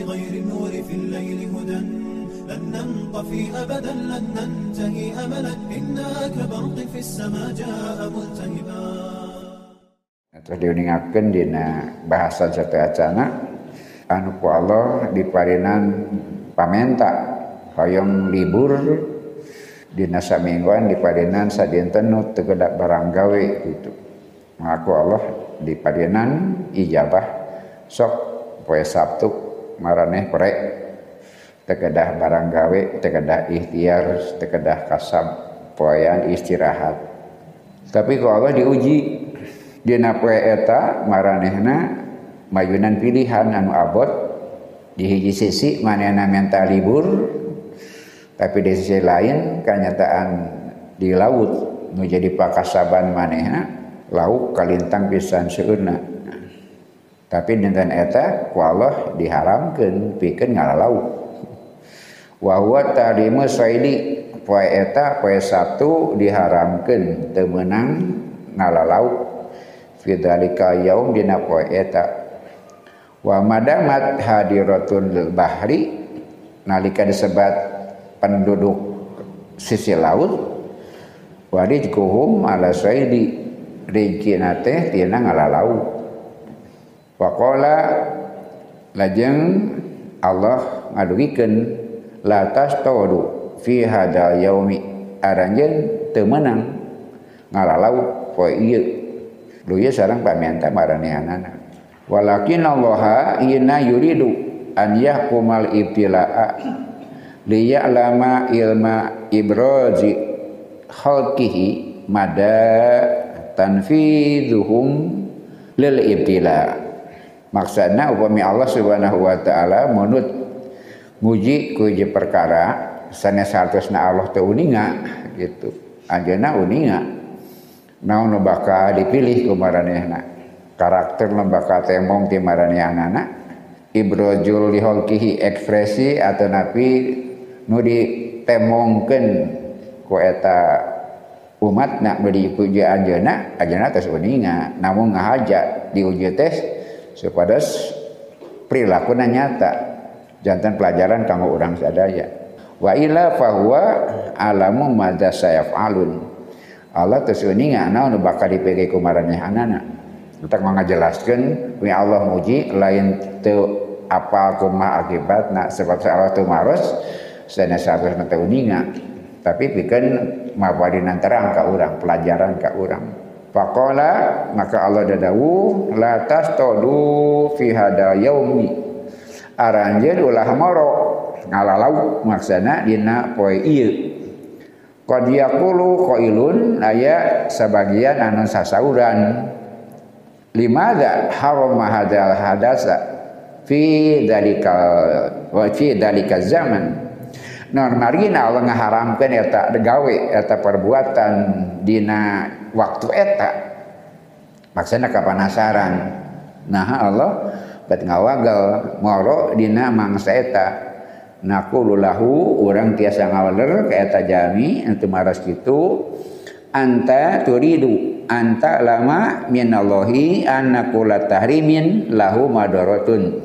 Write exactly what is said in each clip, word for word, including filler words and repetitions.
بغير النور في الليل هدى لن ننطفي أبدا لن ننتهي أملا إنا كبرق في السماء جاء ملتهبا. Terus diuningakeun dina bahasan sateacana anu ku Allah diparinan pamenta hoyong libur dina samingguan diparinan sadinten nu teu kedah barang gawe gitu. Maka Allah diparinan ijabah sok poe Sabtu maraneh prek teu kedah barang gawe, teu kedah ikhtiar, teu kedah kasab poean istirahat. Tapi ku Allah diuji dina poe eta maranehna mayunan pilihan anu abot di hiji sisi manehna minta libur tapi di sisi lain kenyataan di laut nu jadi pakasaban manehna lauk kalintang pisan seueurna tapi dinten eta ku Allah diharamkeun pikeun ngalalauk wa huwa tahrimu saidi poe eta poe Sabtu diharamkeun teu meunang ngalalauk fi dzalika yaum dina poe eta wa madamat hadiratun bahri nalika disebat penduduk sisi laut warijkuhum ala saidi rizqina teh tina ngalalau wa qala lajeng Allah ngadugikeun la tastawdu fi hadzal yaumi aranjeun teu meunang ngalalau poe ieu lu ye sareng pamianta maranehanana walakin Allah inna yuridu an yahkumal ibtilaa liya'lama ilma ibrazi khalqihi mada tanfidhuhum lil ibtila. Maksudna upami Allah Subhanahu wa taala munut muji ku ieu perkara sanes hartosna Allah teu uninga gitu. Anjeunna uninga naon nu bakal dipilih ku maranehna karakter nu bakal temong ti maranehanana ibrojul liholkihi ekspresi atau napi nu ditemongkeun ku eta umatna beri puji anjeunna anjeunna tos uninga namun ngahaja diuji tes supados prilakuna nyata janten pelajaran kanggo urang sadaya wa ila fahuwa alamu madza sayafalun Allah tos uninga naon nu bakal dipege ku maranehanana untuk mengajelaskan punya Allah muji lain teu apal kumaha akibatna sebab Allah teu maros sanes sanesna teu uninga tapi pikeun mapadinan terang ka urang pelajaran ka urang faqala maka Allah dadawu la tastodu fi hada yaumi aranjeun ulah maro ngalalau maksana dina poe ieu qad yaqulu qailun aya sabagian anu sasauran limadza harama hadzal hadasa fi dalikal wa fi dalikal zaman normalina Allah ngaharamkeun eta gawe eta perbuatan dina waktu eta maksudna kapanasaran nah Allah bet ngawagal moro dina mangsa eta naqulu lahu urang tiasa ngawaler ka eta jami anu maras kitu anta turidu anta lama minallahi annaqula tahrimin lahu madaratun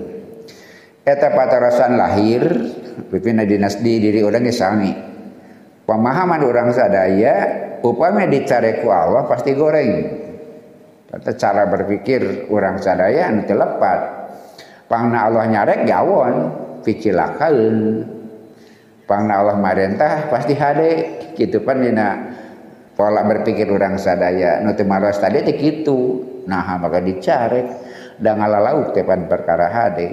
eta patarasan lahir pipina dinasdi diri urang ge sami pemahaman urang sadaya upami dicare ku Allah pasti goreng eta cara berpikir urang sadaya anu teu lepat pangna Allah nyarek gawon picilakaeun pangna Allah marentah pasti hade kitu pan dina pola berpikir urang sadaya nu teu maros tadi teh kitu nah maka dicarek da ngalalauk teh pan perkara hade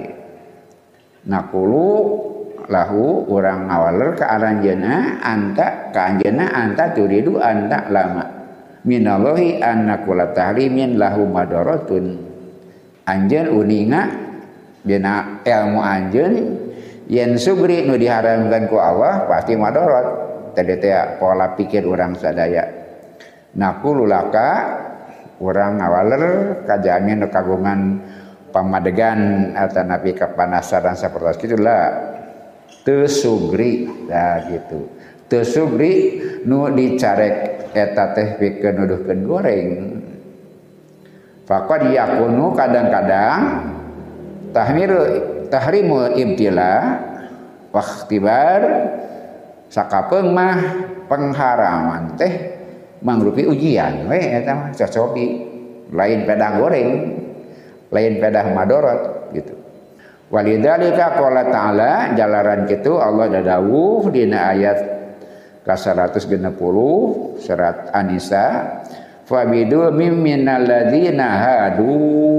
naqulu lahu urang ngawaler ka aranjeunna anta ka anjeunna anta turidu anta lama minallahi annaqula tahrimin lahu madaratun anjeun uninga dina ilmu anjeun yen sugri nu diharamkeun ku Allah pasti madarat tadi teh pola pikir urang sadaya naqulu laka urang ngawaler kajamin kagungan pamadegan atau nabi kapanasaran sapertos kitu lah teu sugri nah gitu teu sugri nu dicarek eta teh pikeun nuduhkeun goreng faqad yakunu kadang-kadang tahmiru tahrimul ibtila wa ikhtibar sakapeung mah pengharaman teh mangrupi ujian we eta mah cocoki lain pedah goreng lain pedah madorot gitu. Walidzalika qala ta'ala jalaran kitu Allah dadawuh dina ayat ka seratus genep puluh surat An-Nisa fabidu minal ladzina hadu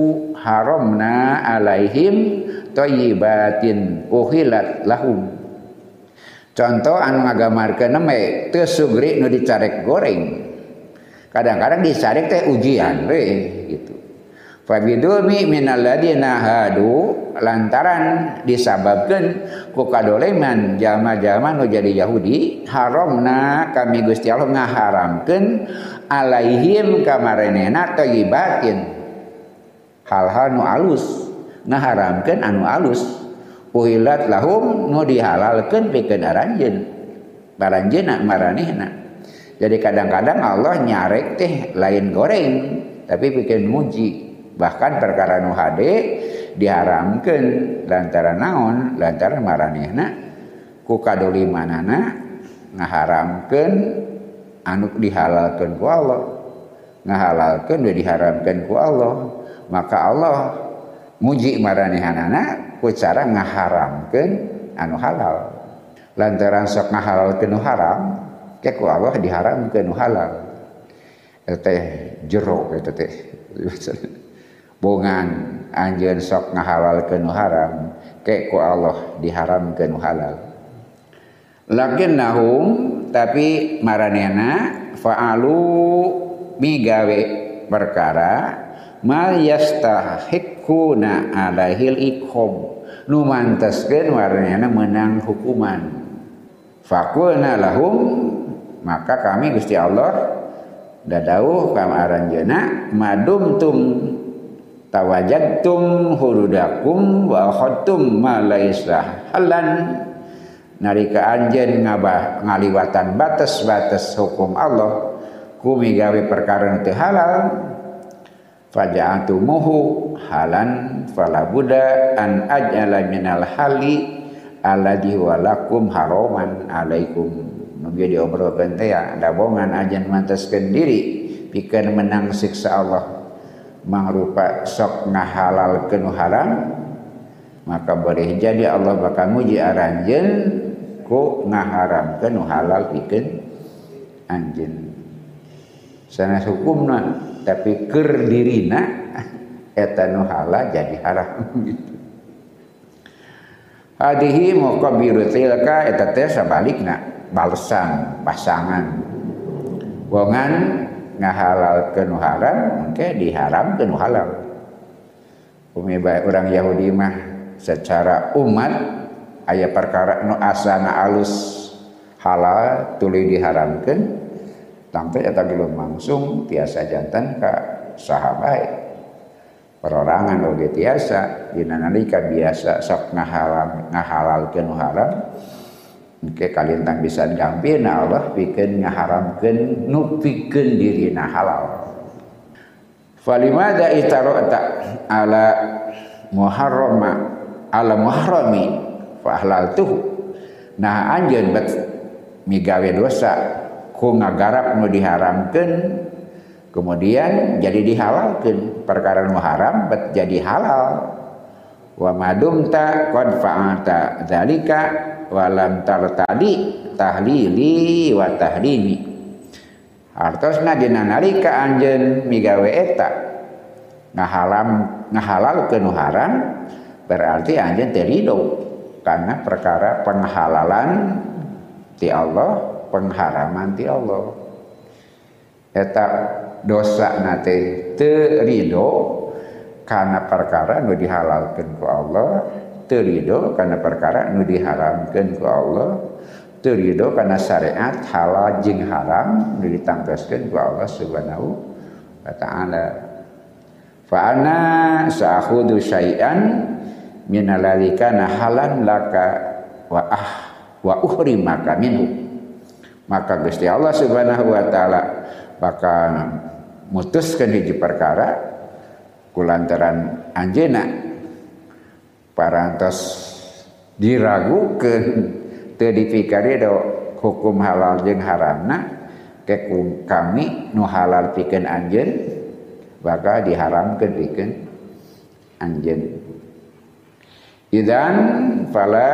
haramna alaihim thayyibatin uhilat lahum. Contoh anu ngagamarkeun mah teu sugri nu dicarek goreng. Kadang-kadang dicarek teh ujian we gitu. Fabidulmi minal ladzina hadu lantaran disababkeun ku kadoleman jalma-jalma nu jadi Yahudi haramna kami Gusti Allah ngaharamkeun alaihim kamarenena thayyibatin hal-hal nu alus ngaharamkeun anu alus uhilat lahum nu dihalalkeun pikeun aranjeun baranjeunna maranehna. Jadi kadang-kadang Allah nyarek teh lain goreng tapi pikeun muji. Bahkan perkara nu hade diharamkeun lantaran naon lantaran maranehna ku kadolimanana ngaharamkeun anu dihalalkeun ku Allah ngahalalkeun we diharamkeun ku Allah maka Allah muji maranehanana ku cara ngaharamkeun anu halal lantaran sok ngahalalkeun nu haram ke ku Allah diharamkeun nu halal teh jero eta teh bongan anjeun sok ngahalalkeun nu haram ke ku Allah diharamkeun nu halal. Lakinnahum tapi maranehna fa'alu migawe perkara mal yastahiquna alaihil iqam nu manteskeun maranehna meunang hukuman. Faqulna lahum maka kami Gusti Allah dadauh ka aranjeunna madumtum tawajadtum hurudakum wa akhadtum ma laisa halan narika anjeun ngabah ngaliwatan batas-batas hukum Allah ku migawe perkara teu halal faja'atumuhu halan fala budda an ajala minal hali alladhi walakum haraman alaikum nu ge diobrolkeun teh da bongan ajan mantaskeun diri pikeun menang siksa Allah mangrupa sok ngahalalkeun haram maka boleh jadi Allah bakal muji aranjeun ku ngaharamkeun halal pikeun anjeun sanes hukumna tapi keur dirina eta nu halal jadi haram gitu. Hadihi muqabbiru tilka eta teh sabalikna balesan pasangan wongan ngahalalkeun haram engke diharamkeun halal. Umi bae urang Yahudi mah secara umat aya perkara nu asana alus halal tuluy diharamkeun tangteu eta belum langsung tiasa janten ka saha bae. Perorangan oge tiasa dina nalika biasa sok ngahalal ngahalalkeun haram engke kalintang bisa gampina Allah pikeun ngaharamkeun nu pikeun dirina halal. Falimada itarota ala muharrama ala muharrami fa ahlaltuhu. Nah anjeun bet migawe dosa ku ngagarap nu diharamkeun kemudian jadi dihalalkeun perkara nu haram bet jadi halal. Wa madumta qad fa'ata dzalika walam tartadi tahlili wa tahrimi. Hartosna dina nalika anjeun migawe eta ngahalam ngahalalkeun haram berarti anjeun teu ridho karena perkara penghalalan ti Allah pengharaman ti Allah. Eta dosa nate teu ridho karena perkara nu dihalalkeun ku Allah, teu ridho karena perkara nu diharamkeun ku Allah, teu ridho karena syariat halal jeung haram nu ditangtoskeun ku Allah Subhanahu wa taala. Fa ana sa'khudhu syai'an min alladzi kana halan laka wa ah wa uhrimaka minhu. Maka Gusti Allah Subhanahu wa taala bakal mutuskeun hiji perkara kulantaran anjeunna parantos diragukeun teu dipikari do hukum halal jeung haramna ke kami nu halal pikeun anjeun bakal diharamkeun pikeun anjeun. Idan fala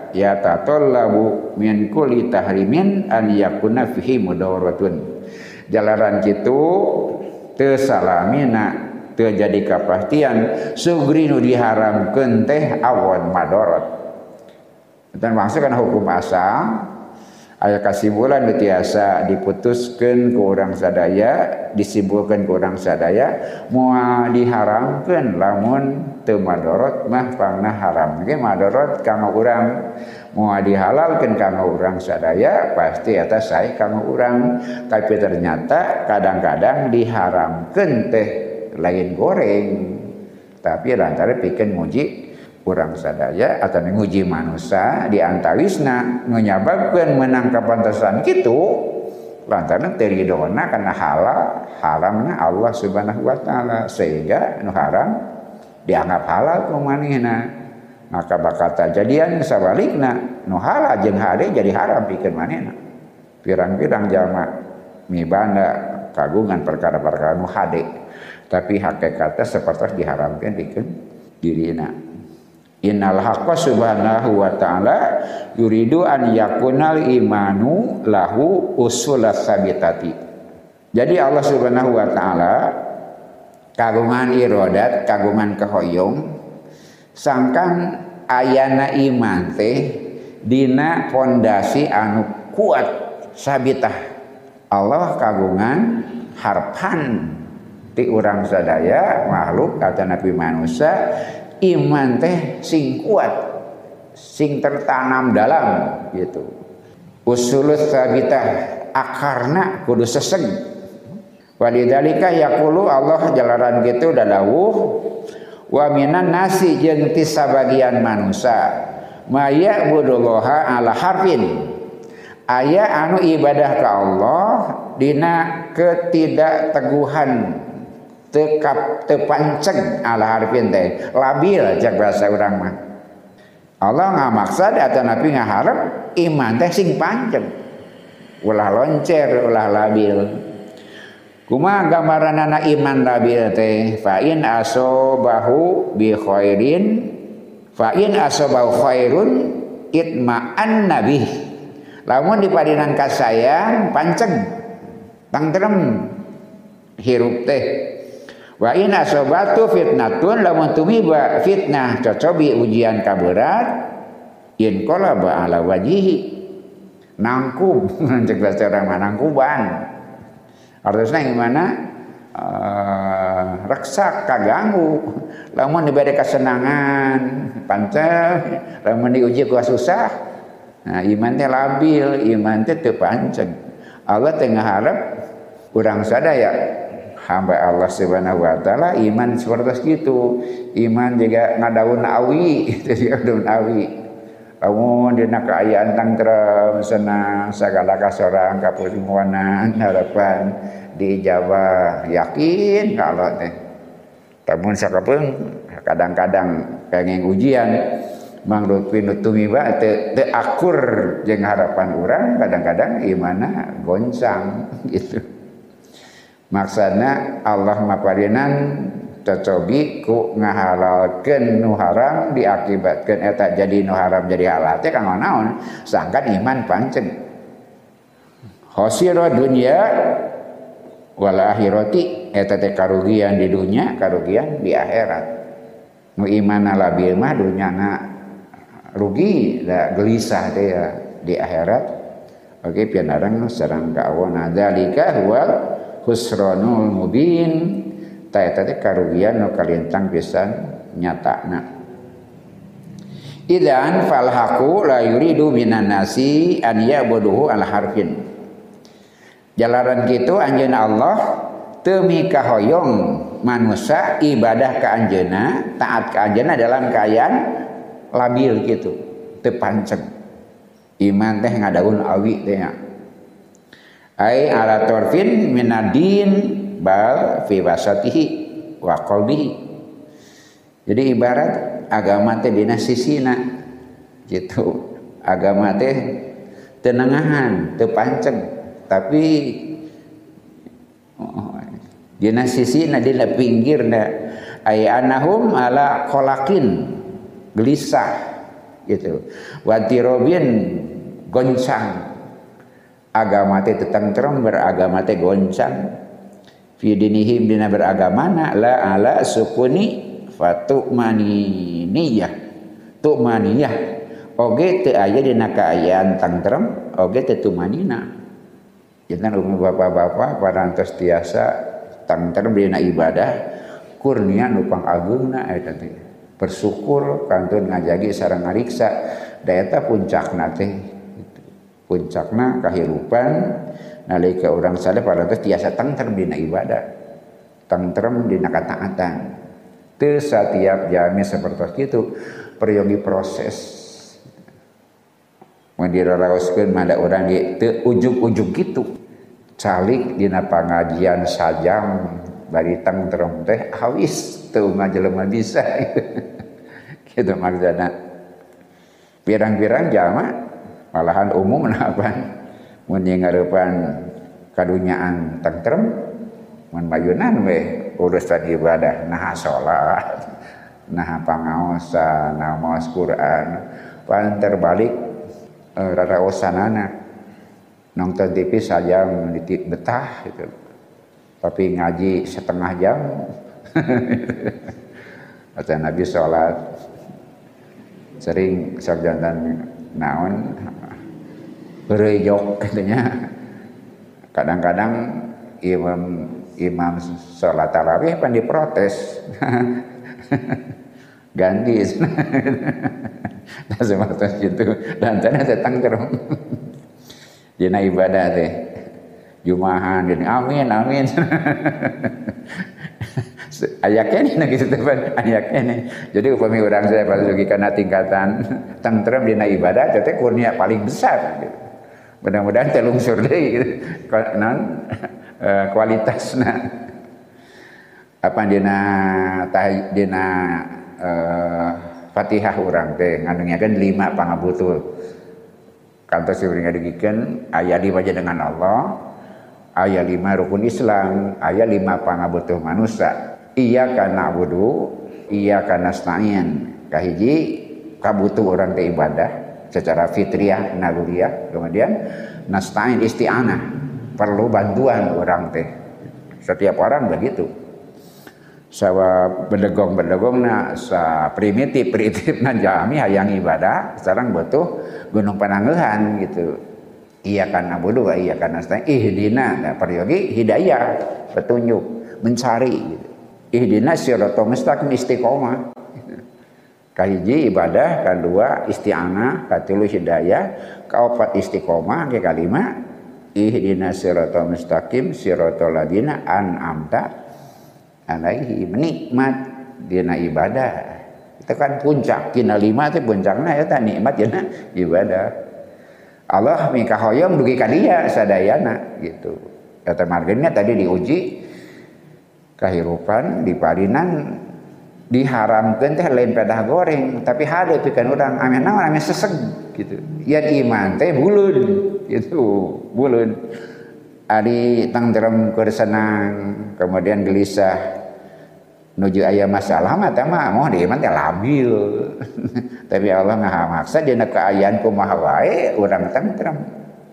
yatatallabu min kulli tahrimin an yakuna fihi mudawaratun. Jalaran kitu teu salamina teu jadi kapastian sugri nu diharamkeun teh awan madarat. Dan maksud kana hukum asal aya kasimpulan biasa diputuskeun ku urang sadaya, disimpulkeun ku urang sadaya moal diharamkeun lamun teu madarat mah pangna haram ge madarat kanggo urang, moal dihalalkeun kanggo urang sadaya pasti eta sae kanggo urang. Tapi ternyata kadang-kadang diharamkeun teh lain goreng tapi lantaran pikeun muji urang sadaya atau nguji manusia di antawisna menyebabkan menang kapantasan kitu lantaran teridona karena halal haramna Allah Subhanahu wa taala sehingga nu haram dianggap halal ku manehna, maka bakal tajadian sabalikna nu halal jeung hade jadi haram pikeun manehna. Pirang-pirang jalma mibanda kagungan perkara-perkara nu hade tapi hakikatnya seperti diharamkeun pikeun dirina. Innal haqqa subhanahu wa ta'ala yuridu an yakunal imanu lahu usulas sabitati. Jadi Allah Subhanahu wa ta'ala kagungan iradat, kagungan kehoyong sangkan ayana iman teh dina fondasi anu kuat sabitah. Allah kagungan harpan ti urang sadaya makhluk kata Nabi manusia iman teh sing kuat sing tertanam dalam gitu. Usulus sabitah akarna kudu seseg. Walidzalika yaqulu Allah jalaran gitu dadawuh wa minan nasi jeung ti sabagian manusia maya budullaha ala harfin aya anu ibadah ka Allah dina ketidakteguhan tekap tepanceng ala harfin teh labil cak bahasa urang mah. Allah ngamaksad atau Nabi ngaharep iman teh sing panceng ulah loncer ulah labil. Kumaha gambaranana iman labil teh fa in asobahu bi khairin fa in asobahu khairun itma'an nabi. Lamun dipadinan kasayang panceng tangtrem hirup teh. Wa in asobatu fitnatun lamun tumiba fitnah cocobi ujian kaberat in qalaba ala wajhihi nangkub cek bahasa orang mah nangkuban artinya gimana uh, reksak kaganggu lamun diberi kesenangan pancen lamun diuji ku susah nah iman teh labil iman teh teu pancen Allah teh ngaharep urang sadaya hamba Allah Subhanahu wa taala iman seperti itu. Iman juga ngadaun awi, itu daun awi. Lamun dina kaayaan tangtrem senang sagala kasorang kapusimuanan harapan diijabah yakin kalau teh. Tamun sakapeung kadang-kadang kenging ujian mangrut pinutumiba teu teu akur jeung harapan urang kadang-kadang imana goncang gitu. Maksudnya Allah maparinan cocobi ku ngahalalkeun nu haram diakibatkeun eta jadi nu haram jadi halal teh kanggo naon sangkan iman pancen khosira dunya wal akhirati eta teh karugian di dunya karugian di akhirat. Nu iman labil mah dunyana rugi da gelisah teh ya di akhirat. Oke pianarang sareng ka awana zalika huwa khusranul mubin ta eta teh karugian nu kalintang pisan nyatana. Idzan fal haqu la yuridu minan nasi an ya'buduhu al harfin. Jalaran kitu anjeun Allah teu mikahoyong manusia ibadah ka anjeunna taat ka anjeunna dalam kaayaan labil kitu teu panceng. Iman teh ngadaun awi teh nya. Ai ala torfin minadin bal fi wasatihi wa qalbihi. Jadi ibarat agama teh dina sisina gitu. Agama teh tenengahan, teu panceg, tapi oh, dina sisina dina pinggirna ay anahum ala qolakin gelisah gitu. Wa tirobin goncang. Agama teh tentrem, beragama teh goncang. Fi dinihim dina beragamana la ala sukuni fatu'maniniyah. Tu'maniyah oge teu aya dina kaayaan tentrem, oge teu tumanina. Janten umum bapak-bapak parantos tiasa tentrem dina ibadah kurnia nu pangageungna eta teh. Bersyukur kantun ngajagi sareng ngariksa da eta puncakna teh. Puncakna kahirupan nalika urang sadaya parantos tiasa tentrem dina ibadah, tentrem dina kataatan. Teu satiap jami sapertos kitu peryogi proses. Mun diraraoskeun mada urang ge teu ujug-ujug kitu. Calik dina pangajian sajam bari tentrem teh hawis teu ngajelema bisa. Kitu maksudna. Pirang-pirang jama malahan umum apa mun ngarupan kadunyaan tentrem mun mayunan we urusan ibadah nah salat nah pangaosan nah maos Quran pan terbalik e, raraosanana nonton T V sajam ditik betah gitu tapi ngaji setengah jam kata Nabi salat sering sarjantan naon berejok katanya kadang-kadang imam imam sholat tarawih pan diprotes ganti nah seperti itu dan ternyata tangkrem dina ibadah teh jumahan gini amin amin ayaknya nih gitu teman ayaknya nih jadi upami orang saya pasuki karena tingkatan tentrem dina ibadah itu kurnia paling besar gitu. Mudah-mudahan telungsur deh gitu. Non kualitasna apa dina tah dina uh, Fatihah urang teh ngandungkeun lima pangabutuh kantos urang ngadegikeun aya lima dengan Allah aya lima rukun Islam aya lima pangabutuh manusia. Iyyaka na'budu iyyaka nasta'in kahiji kabutuh orang teh ibadah secara fitriyah naluriyah kemudian nasta'in isti'anah perlu bantuan orang teh setiap orang begitu sawa bedegong-bedegongna sa primitif-primitifna jami hayang ibadah sareng butuh gunung panangeuhan gitu iyyaka na'budu wa iyyaka nasta'in ihdina nah peryogi hidayah petunjuk mencari gitu. Ihdina siratal mustaqim istiqomah. Kahiji ibadah, kedua isti'anah, katilu hidayah, kaopat istiqomah, ke kalima ihdina siratal mustaqim siratal ladina an'amta alaihi nikmat dina ibadah. Itu kan puncak dina lima teh puncakna eta nikmat dina ibadah. Allah mikahoyong dugi ka dia sadayana gitu. Eta margina tadi diuji kahirupan di parinan diharamkeun teh lain pedah goreng tapi hade pikeun urang ame naon ame seseg gitu yen iman teh buleun gitu buleun ari tentrem keur senang kemudian gelisah nuju aya masalah mah teh mah moh di iman teh labil tapi Allah ngahamaksa dina kaayaan kumaha wae urang tentrem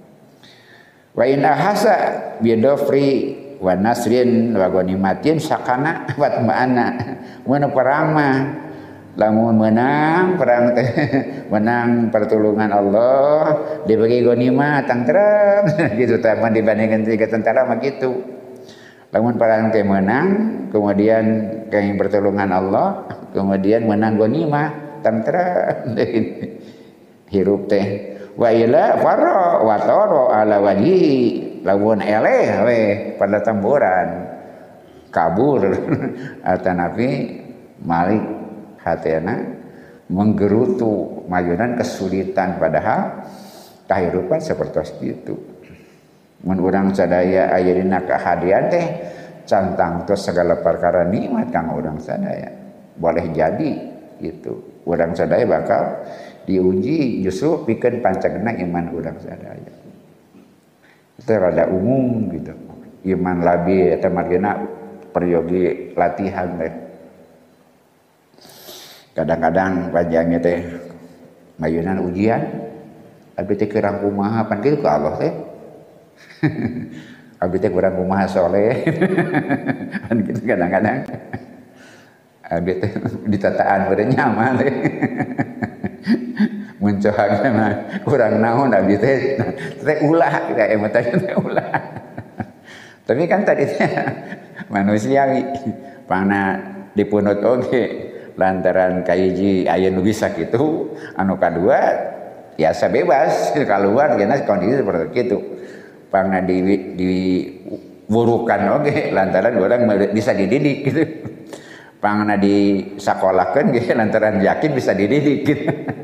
wa in ahasa bidofri wa nasrin wa ghanimatin sakana wa ma'ana mun perang mah lamun menang perang teh menang pertolongan Allah dibagi ghanimah tentrem gitu teh mun dibandingkeun tiga tentara mah gitu lamun perang teh menang kemudian kaing pertolongan Allah kemudian menang ghanimah tentrem hirup teh wa ila farra wa tara ala wajhi lamun eleh we pada tamburan kabur atanapi malik hatena menggerutu mayunan kesulitan padahal kahirupan seperti itu mun urang sadaya aya dina kahadian teh cantang tos segala perkara nikmat kang urang sadaya boleh jadi gitu. Urang sadaya bakal diuji justru pikeun pancegna iman urang sadaya. Itu rada umum gitu. Iman labi eta margina peryogi latihan teh. Kadang-kadang panjangnya teh mayunan ujian abdi teh kurang kumaha pan kitu ka Allah teh. Abdi teh kurang kumaha soleh. Pan kitu kadang-kadang. Abdi teh ditataan beureun nyaman teh. Mun cohagna mah kurang naon abdi teh teh ulah kita emang teh ulah. Tapi kan tadi teh manusiawi pangna dipunut oge lantaran kahiji aya nu bisa kitu, anu kadua biasa bebas keluar geus kondisi seperti itu. Pangna di diwurukan oge lantaran urang bisa dididik gitu. Pangna disakolahkeun ge lantaran yakin bisa dididik gitu.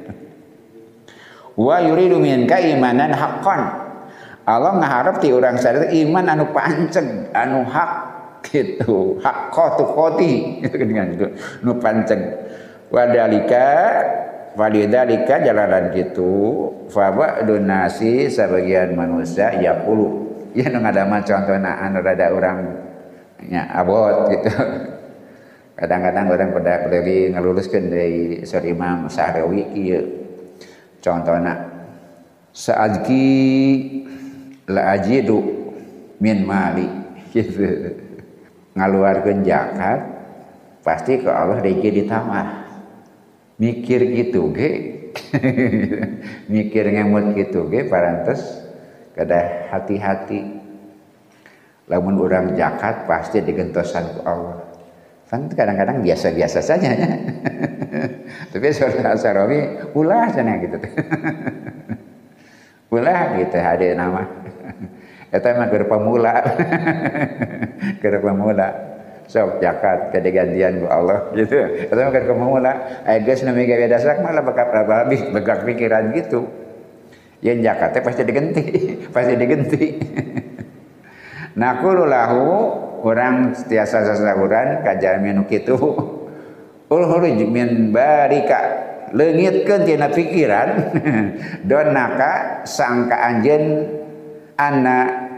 Wa yuridu minka imanan haqqan. Allah ngaharep ti urang sadaya iman anu panceg, anu hak gitu. Haqqatu qoti gitu kan gitu. Nu panceg. Wa dalika walidalika jalanan gitu. Fa ba'dun nasi sebagian manusia yaqulu. Ya nu ngadama contohna anu rada urang nya abot gitu. Kadang-kadang orang pada pergi ngeluluskeun dari Sur Imam Sahrawi kieu. Contohna sa'adki la ajidu min mali gitu. Ngaluarkeun zakat pasti ke Allah rezeki ditambah. Mikir gitu ge. Mikir ngemut gitu ge parantos kada hati-hati. Lamun urang zakat pasti digentosan ku Allah. Kan kadang-kadang biasa-biasa saja ya. Tapi Saudara Sarawi ulah cenah gitu. Ulah gitu ada nama. Eta mah keur pemula. Keur pemula. Sok zakat kedegantian ku Allah gitu. Eta mah keur pemula. Aya geus nu miga dasak malah bakal habis begak pikiran gitu. Yen zakat teh pasti digenti, pasti digenti. Naqulu lahu orang setiasa sasahuran kajami nu kitu ulhuruj min barika leungitkeun tina pikiran donaka sangka anjeun anna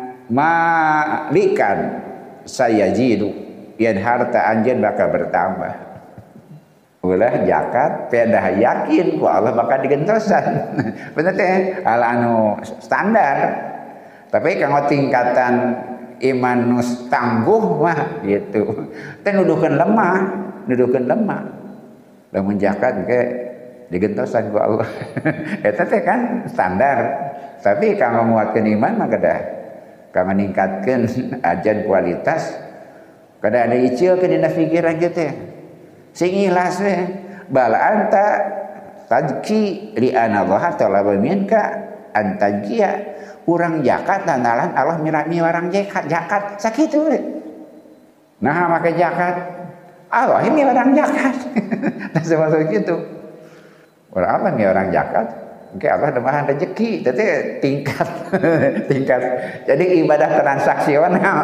malikan sayajidu yen harta anjeun bakal bertambah ulah zakat pedah yakin ku Allah bakal digentosan bener teh hal anu standar tapi kanggo tingkatan iman nus tangguh mah gitu. Teh nuduhkeun lemah, nuduhkeun lemah. Lamun zakat ge digentosan ku Allah. Eta teh kan standar. Tapi kanggo nguatkeun iman mah kada kanggo ningkatkeun ajan kualitas kada ada icilkeun dina pikiran kieu teh. Sing ikhlas we bal anta tajki li ana Allah talaba minka antajia urang zakat lantaran Allah mirami orang zakat zakat sakitu we. Nah make zakat Allah ini orang zakat. Tah seperti kitu. Urang Allah mi orang zakat, engke Allah demahan rezeki, teh tingkat tingkat. Jadi ibadah transaksional.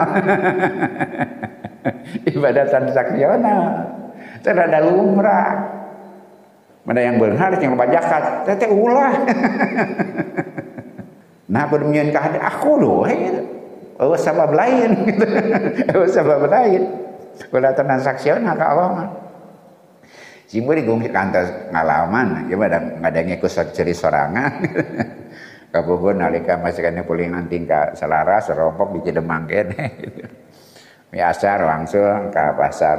Ibadah transaksional. Teh rada lumrah. Mana yang beunghar yang loba zakat, teh ulah. Nah bermian ka aku doh gitu. Oh sabab lain gitu. Oh sabab lain. Ulah transaksional ka Allah mah. Simburi gong kantos ngalaman, ya pada ngadenge ku ceri sorangan. Kabogoh nalika masikane pulingan tingkah selaras serompok di Cedemang kene. Biasa langsung ke pasar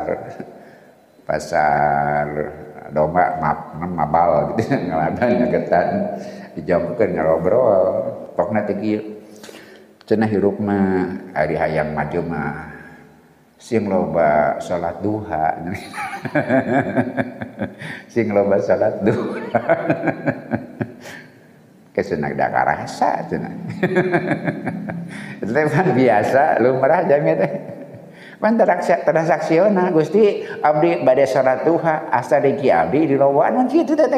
pasar domba mabal gitu ngaladan ngagetan dijamkeun ngarobrol. Pokna teh kieu cenah hirup mah ari hayang maju mah sing loba salat duha sing loba salat duha kesenang da karasa cenah itu kan biasa lumrah jami teh pan transaksional Gusti abdi bade salat duha asa deki abdi di lowaan kitu teh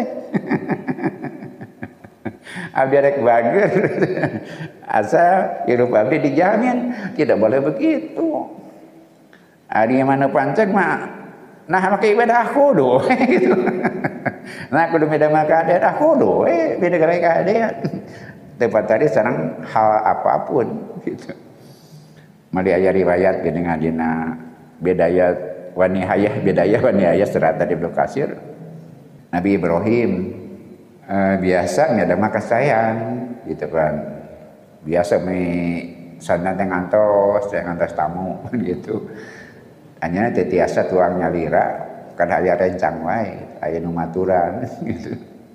abdi rek bager asa hidup abdi dijamin tidak boleh begitu. Ari mana panceg mah nah make ibadah kudu gitu. Nah kudu beda mah keadaan, ah kudu eh beda gara keadaan. Tempat tadi sareng hal apapun gitu. Mali aya riwayat geuning dina bedaya wa nihayah bedaya wa nihayah surat Ibnu Katsir. Nabi Ibrahim eh, biasa ada mah kasayang gitu kan. Biasa mi sana teh ngantos, teh ngantos tamu gitu. Hanya teh tiasa tuang nyalira kada aya rencang wae, aya nu maturan gitu.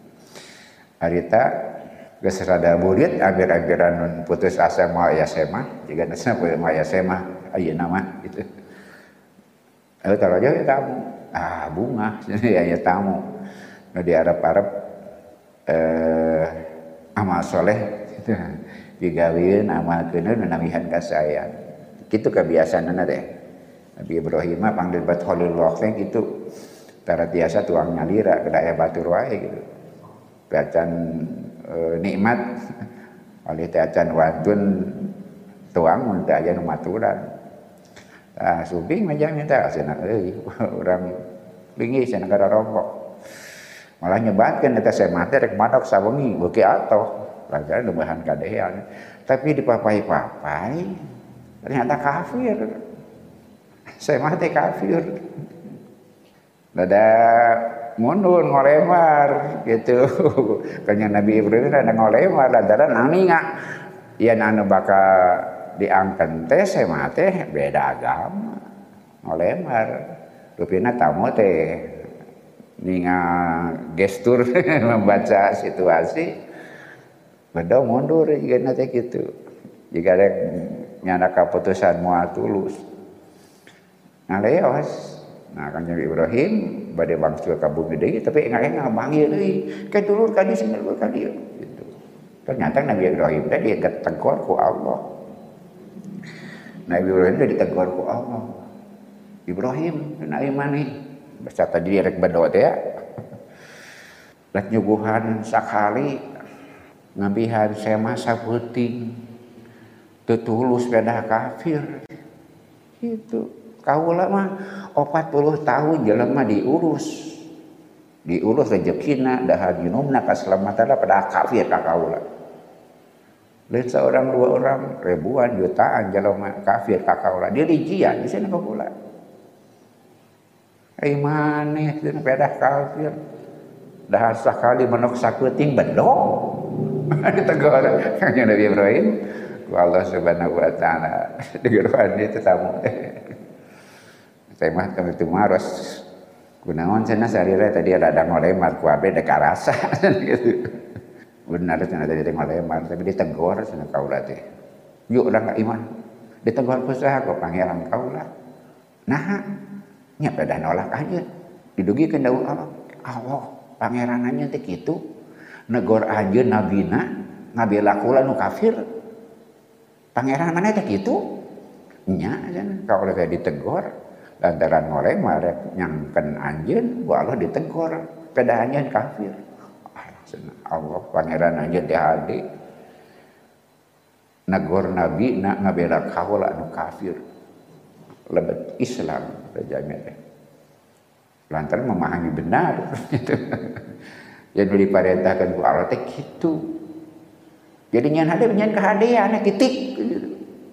Harita geus rada burit abir-abiran nun putus asa moal aya semah, jiga nasna moal aya semah ayeuna mah gitu. Eh taraja ya tamu. Ah bunga aya tamu. Nu diarep-arep eh amal soleh gitu. Digawieun amalkeun namihan kasayang. Kitu kebiasaanna teh. Nabi Ibrahim mah panggil bat Khalilullah teh kitu. Tara tiasa tuang nyalira kada aya batur wae gitu. Bacan e, nikmat oleh teh acan wantun tuang mun teh aya nu maturan. Ah subing mah jang eta cenah euy urang linggih cenah kada rokok. Malah nyebatkeun eta semah teh rek manok sawengi beuki atoh. Lantaran nubahan kadean. Tapi dipapai-papai ternyata kafir. Semah teh kafir. Dada mundur ngolemar gitu. Kanya Nabi Ibrahim ada ngolemar lantaran aninga yen anu bakal diangken teh semah teh beda agama. Ngolemar. Rupina tamu teh ninga gestur membaca situasi beda mundur juga nanti gitu. Jika ada nyana keputusan moal tulus. Ngaleos. Nah kan Nabi Ibrahim bade bangsul ka bumi deui tapi engah-engah manggil deui. Ke dulur ka dieu sing dulur ka dieu gitu. Ternyata Nabi Ibrahim teh ditegur ku Allah. Nabi Ibrahim teh ditegur ku Allah. Ibrahim, nabi maneh. Basa tadi rek bedo teh ya. Lat nyuguhan sakali ngabihan semah sapeuting teu tulus beda kafir. Gitu. Kaula mah opat puluh tahun jelema diurus. Diurus rezekina dahar minumna kaselamatanna pada kafir ka kaula. Lain seorang dua orang ribuan jutaan jelema kafir ka kaula. Dia rijian di sana kaula. Ai maneh cenah beda kafir. Dahar sakali menok sakuting bedog. Ditegur kanya Nabi Ibrahim ku Allah Subhanahu wa taala. Digeureuan itu tamu. Saya mah kami tu maros kunaon cenah sarira tadi ada ngolemar ku abe dek karasa gitu. Benar cenah tadi ngolemar tapi ditegur cenah kaula teh. Yuk urang ka iman. Ditegur ku saha ku pangeran kaula. Nah, nya pada nolak aja. Didugikeun daun Allah. Allah pangerananya teh kitu. Negor anjeun nabina ngabela kula nu kafir. Pangeran mana teh kitu? Nya cenah kaula teh ditegur. Lantaran ngolemar nyangken anjeun ku Allah ditegur pada anjeun kafir. Allah pangeran anjeun teh hade. Negor nabi na ngabela kaula anu kafir. Lebet Islam rajanya teh. Lantaran memahami benar gitu. Yang diparentahkeun ku Allah teh kitu. Jadi nyan hade nyan kahadean kitik gitu.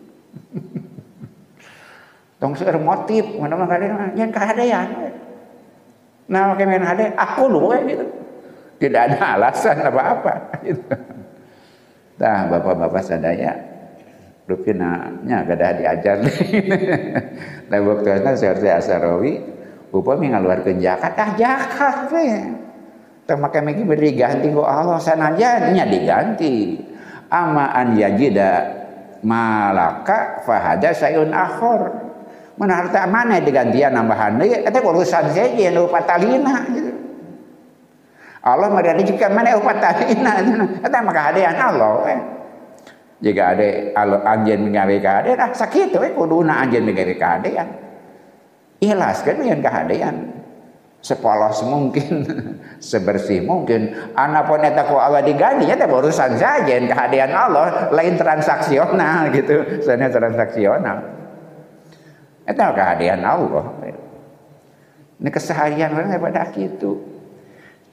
Tong seueur motif mana mah kadang nyan kahadean. Nah make men hade aku lu gitu. Tidak ada alasan apa-apa gitu. Tah bapak-bapak sadaya rupina nya gadah diajar. Da waktuna saeueur Asarawi upami ngaluarkeun zakat ah zakat we. Teu make meki beri ganti ku Allah sanajan nya diganti. Ama an yajida malaka fahada sayun akhir. Mun harta mana digantian nambahan deui eta urusan seje nu patalina gitu. Allah mah rezeki mana patalina eta mah kahadean Allah we. Jika ade anjeun ngawe kahadean ah sakitu we kuduna anjeun ngawe kahadean. Ikhlaskeun yen kahadean. Sepolos mungkin, sebersih mungkin. Anapun eta ku Allah diganti eta urusan saja yen kahadean Allah lain transaksional gitu. Soalnya transaksional. Eta kahadean Allah. Ini keseharian orang pada gitu.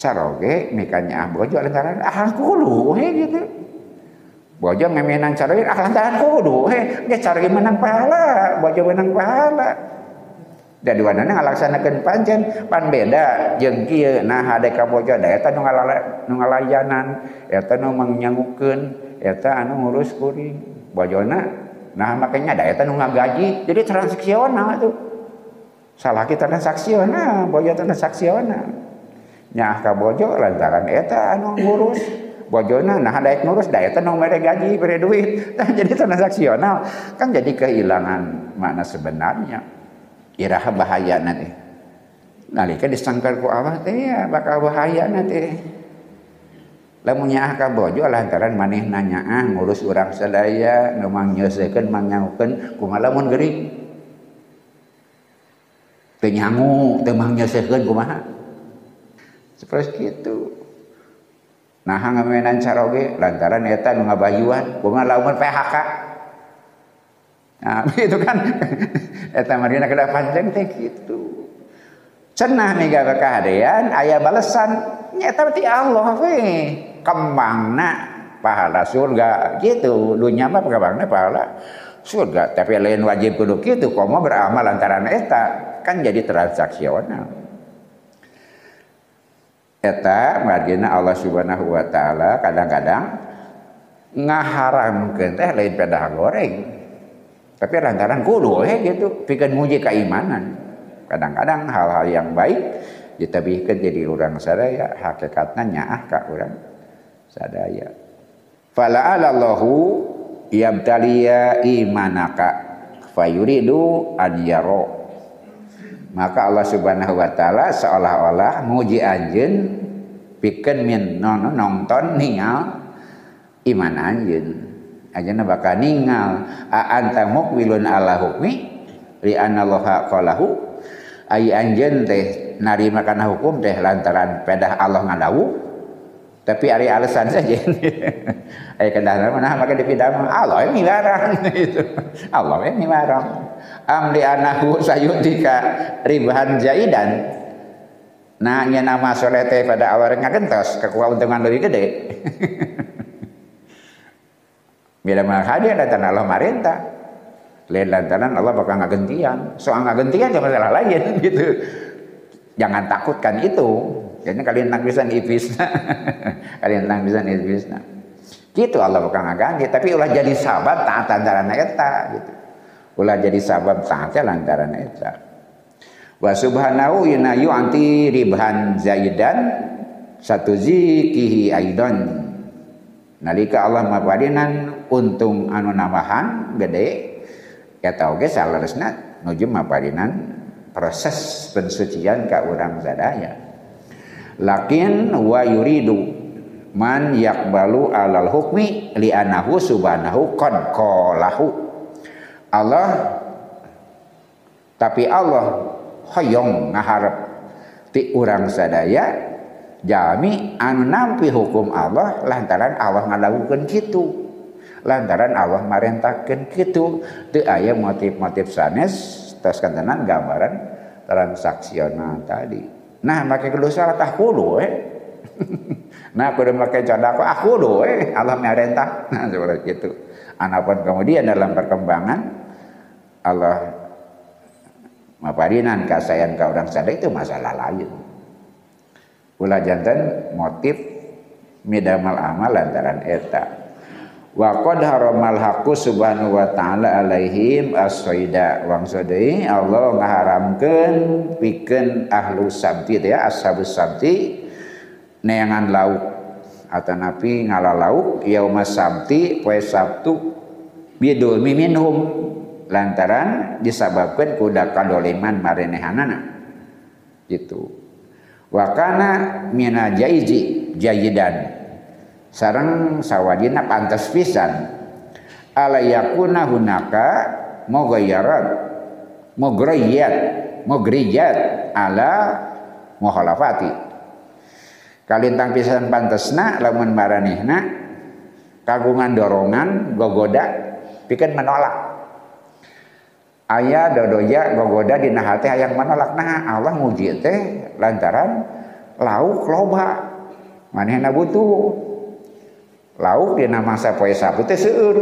caroge mikanya ah bojo lantaran ah kudu he gitu. Bojo ngamenan caroge ah lantaran kudu he ge caroge menang pahala, bojo menang pahala. Da duanana ngalaksanakeun pancen pan beda jeung kieu nah hade ka bojo da eta nu ngalala nu ngalayanan eta nu mangnyanggukeun eta anu ngurus kuring bojona nah makanya da eta nu ngagaji jadi transaksional tuh salah kita transaksional bojo transaksional nyah ka bojo lantaran eta anu ngurus bojona nah daek ngurus da eta nu mere gaji mere duit nah, jadi transaksional kan jadi kehilangan makna sebenarnya. Iraha bahaya nanti. Nalika disangkar ku Allah teh ya bakal bahaya nanti. Lamun nyaah ka bojo lantaran maneh nanya ah ngurus urang sadaya nu mangyeusekeun mangnyahukeun kumaha lamun geuring. Teu nyangu teu mangyeusekeun kumaha. Seperti kitu. Nah ngamenan caroge lantaran eta nu ngabayuan kumaha lamun P H K. Nah, itu kan eta marina kada panjang teh kitu. Cenah miga kahadean aya balesan nyata ti Allah we. Kembangna pahala surga gitu. Dunya mah kembangna pahala surga, tapi lain wajib kudu kitu komo beramal lantaran eta kan jadi transaksional. Eta margina Allah Subhanahu wa taala kadang-kadang ngaharamkeun teh lain pedah goreng. Tapi lantaran kudu he gitu pikeun muji keimanan. Kadang-kadang hal-hal yang baik ditabihkeun jadi urang sadaya hakikatna nyaah ka urang sadaya. Fala'alallahu yabtaliya imanaka fayuridu an yara. Maka Allah Subhanahu wa taala seolah-olah muji anjeun pikeun min nonton ningal iman anjeun. Ajeuna bakal ningal a anta muqbilun ala hukmi li anna allaha qalahu ai anjeun teh narima kana hukum teh lantaran pedah Allah ngadawu tapi ari alasan saja ai kendahna mana maka dipidam Allah ini larang itu Allah ini larang am li anahu sayutika ribahan zaidan nah nya nama soleh teh pada awal ngagentos keuntungan leuwih gede. Bila mah hadir lantaran Allah marenta, lain lantaran Allah bakal ngagentian. Soal ngagentian jangan masalah lain gitu. Jangan takutkan itu. Jadi kalian nang pisan iblisna. Kalian nang pisan iblisna. Gitu Allah bakal ngaganti, tapi ulah jadi sabab taat lantaran eta gitu. Ulah jadi sabab taatnya lantaran eta. Wa subhanahu yunayu anti ribhan zaidan satu zikihi aidan. Nalika Allah mapadinan untung anu namahan gede eta oge saleresna nuju mapadinan proses pensucian ka urang sadaya. Lakin wa yuridu man yaqbalu alal hukmi li anahu subhanahu qad qalahu. Allah tapi Allah hoyong ngaharep ti urang sadaya jami anu nampi hukum Allah lantaran Allah ngalakukeun kitu. Lantaran Allah marentakeun kitu. Teu aya motif-motif sanes tos kantenan gambaran transaksional tadi. Nah, make kudu salah tah kudu we. Nah, kudu make cadako ah kudu we Allah marentah. Nah, seperti itu. Anapun kemudian dalam perkembangan Allah maparinan kasayan ka urang sadaya itu masalah lain. Ulah jantan motif midamal amal lantaran eta. Wa qad haramal haqqu subhanahu wa ta'ala alaihim as-saida. Wangsa deui Allah ngaharamkeun pikeun ahlu sabti teh ashabus sabti neangan lauk atanapi ngalalauk yaumas sabti poe Sabtu bidul minhum lantaran disababkeun ku kadoliman marenehanana. Gitu. Wakana mina jaizi jayidan sareng sawadina pantas pisan ala yakuna hunaka mughayyarat mughriyat mughriyat ala mukhalafati kalintang pisan pantesna lamun maranehna kagungan dorongan gogoda pikeun menolak aya dodoya gogoda dina hati hayang menolak nah Allah muji teh lantaran lauk loba manehna butuh lauk dina masa poe Sabtu teh seueur.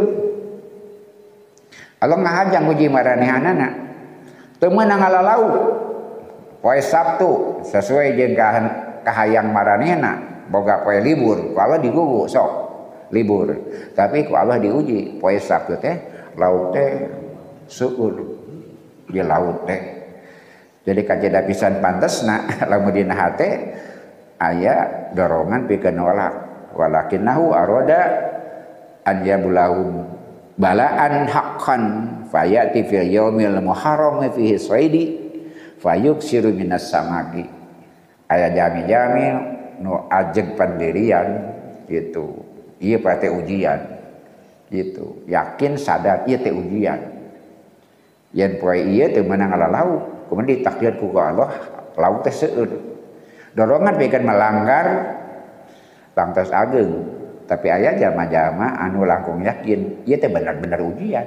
Allah ngahajang uji maranehanana teu meunang ngalalau poe Sabtu sesuai jeung kahayang maranehna boga poe libur ku Allah digugu sok libur tapi ku Allah diuji poe Sabtu teh lauk teh seueur di laut teh jadi kajeda pisan pantesna lamun dina hate aya dorongan pikeun nolak walakinnahu aroda an yabulahum balaan haqqan fayati fil yaumil muharram fihi saidi fayuksiru minas samaki aya jami-jami nu ajeg pandirian gitu ieu pate ujian gitu yakin sadar ieu teh ujian yen poe ieu teu meunang ngalalau kemudian ditakdir ku Allah lauk teh seueur dorongan pikeun melanggar lantas ageng tapi aya jama-jama anu langkung yakin ieu teh bener-bener ujian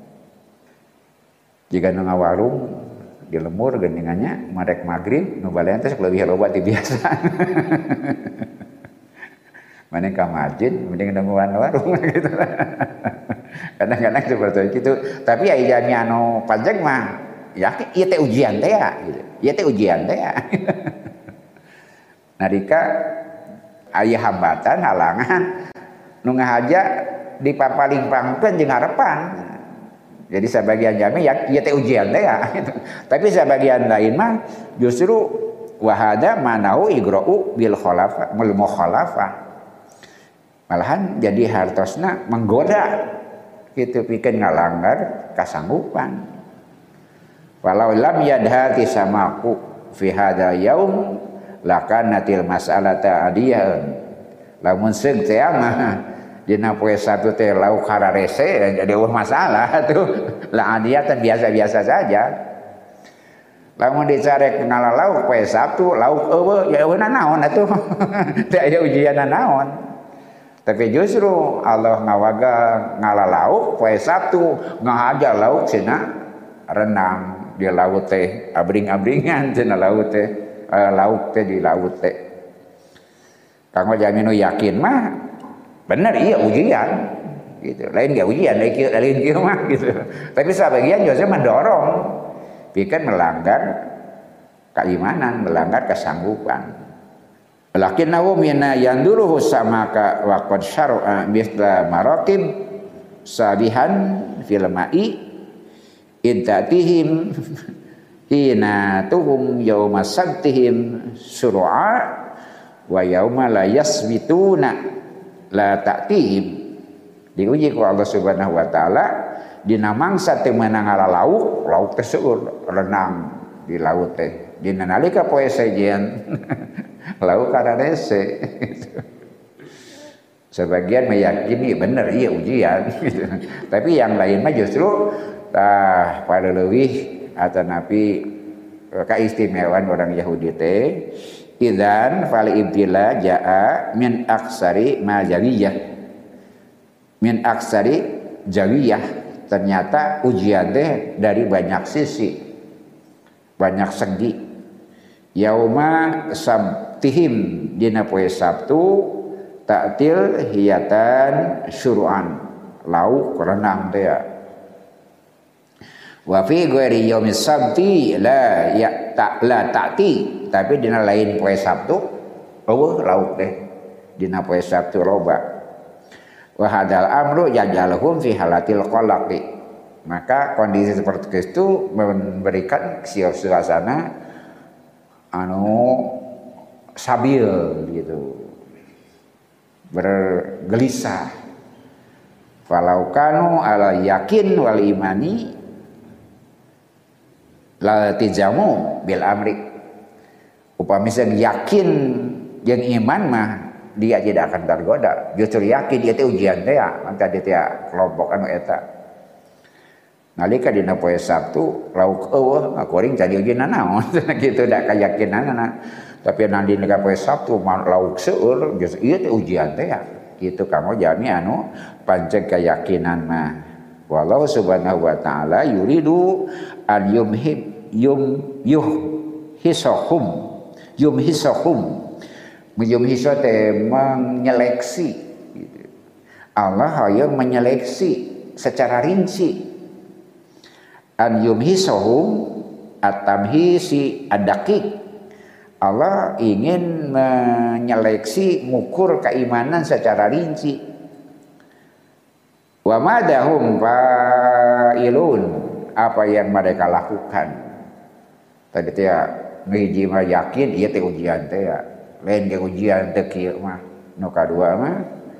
jika nu ngawarung di lemur geuningannya marek magrib nu balean teh leuwih loba ti biasa mane ka masjid mending nungguan warung gitu kadang-kadang seperti itu tapi aya jami anu panjang mah yakin ieu teh ujian teh ya gitu ieu teh ujian teh ya narika aya hambatan halangan nu ngahaja dipapaling pangkeun jeung ngarepan. Jadi sebagian jami ya ieu teh ujian teh ya gitu. Tapi sebagian lain mah justru wahada manau igra'u bil khalafa mul mukhalafah. Malahan jadi hartosna menggoda gitu pikeun ngalanggar kasanggupan. Walau lam yadhati samaku fi hada yaum lakanatil mas'alata adiyan lamun seung teh mah dina poe Sabtu teh lauk hararese jadi eueuh masalah tuh lah adiatan biasa-biasa saja lamun dicarek ngalalau poe Sabtu lauk eueuh ya eueuh naon atuh teh aya ujian naon tapi justru Allah ngawaga ngalalau poe Sabtu ngahaja lauk cenah renang di laut teh abring-abringan cenah laut teh uh, lauk teh di laut teh kanggo jami nu yakin mah bener iya ujian gitu lain gak ujian lain kieu mah gitu tapi sebagian justru mendorong pikeun melanggar keimanan melanggar kesanggupan lakinnahu mina yanduruhu samaka wa qad syar'a misla maraqib sabihan fil ma'i intatihim hina tuhum yauma sabtihim sur'a wa yauma la yasbituna la ta'tihim diuji ku Allah Subhanahu wa taala dina mangsa teu meunang ngalalau lauk teh seueur renang di laut teh dina nalika poe sejen lauk kararese sebagian meyakini bener iya ujian gitu. Tapi yang lain mah justru tah pada leuwih atanapi kaistimewaan orang Yahudi teh idzan fal ibtila jaa min aksari ma jawiyah min aksari jawiyah ternyata ujian teh dari banyak sisi banyak segi yauma sabtihim dina poe Sabtu ta'til hiyatan syuru'an lauk renang teh ya wa fi ghairi yaumis sabti la ya ta la ta'ti tapi dina lain poe Sabtu eueuh lauk teh dina poe Sabtu loba wa hadal amru yajalhum fi halatil qalaqi maka kondisi seperti itu memberikan suasana anu sabil gitu bergelisah falau kanu ala yakin wal imani la tijamu bil amri upami sen yakin jeung iman mah dia tidak akan tergoda justru yakin dia teh ujian teh maka dia teh kelompok anu eta nalika dina poe Sabtu lauk eueuh akuring jadi ujian naon gitu da kayakinanna tapi nanti dina poe Sabtu lauk seueur geus ieu teh ujian teh kitu kamu jami anu pancen keyakinan mah wallahu subhanahu wa taala yuridu al yumhib yum yuh hisahum yum hisahum Yumhiso teh menyeleksi gitu. Allah hayang menyeleksi secara rinci. An yumhisohum at-tamhisi ad-daqiq. Allah ingin menyeleksi mengukur keimanan secara rinci. Wa madahum fa'ilun, apa yang mereka lakukan. Tadi teh ngiji mah yakin ieu teh ujian teh ya. Lain ke ujian teh kieu mah. Nu kadua mah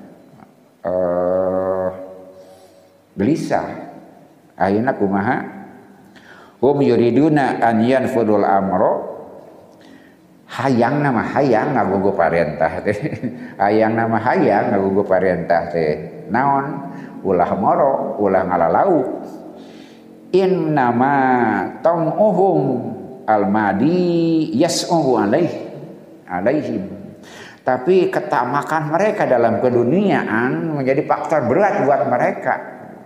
eh gelisah. Ayeuna kumaha? Hum yuriduna an yanfudul amro. Hayang nama hayang ngagugu parentah teh. Hayang nama hayang ngagugu parentah teh. Naon? Ulah moro, ulah ngalalau. In nama tong'uhum al-madi yas'uhu alaih alaihim. Tapi ketamakan mereka dalam keduniaan menjadi faktor berat buat mereka.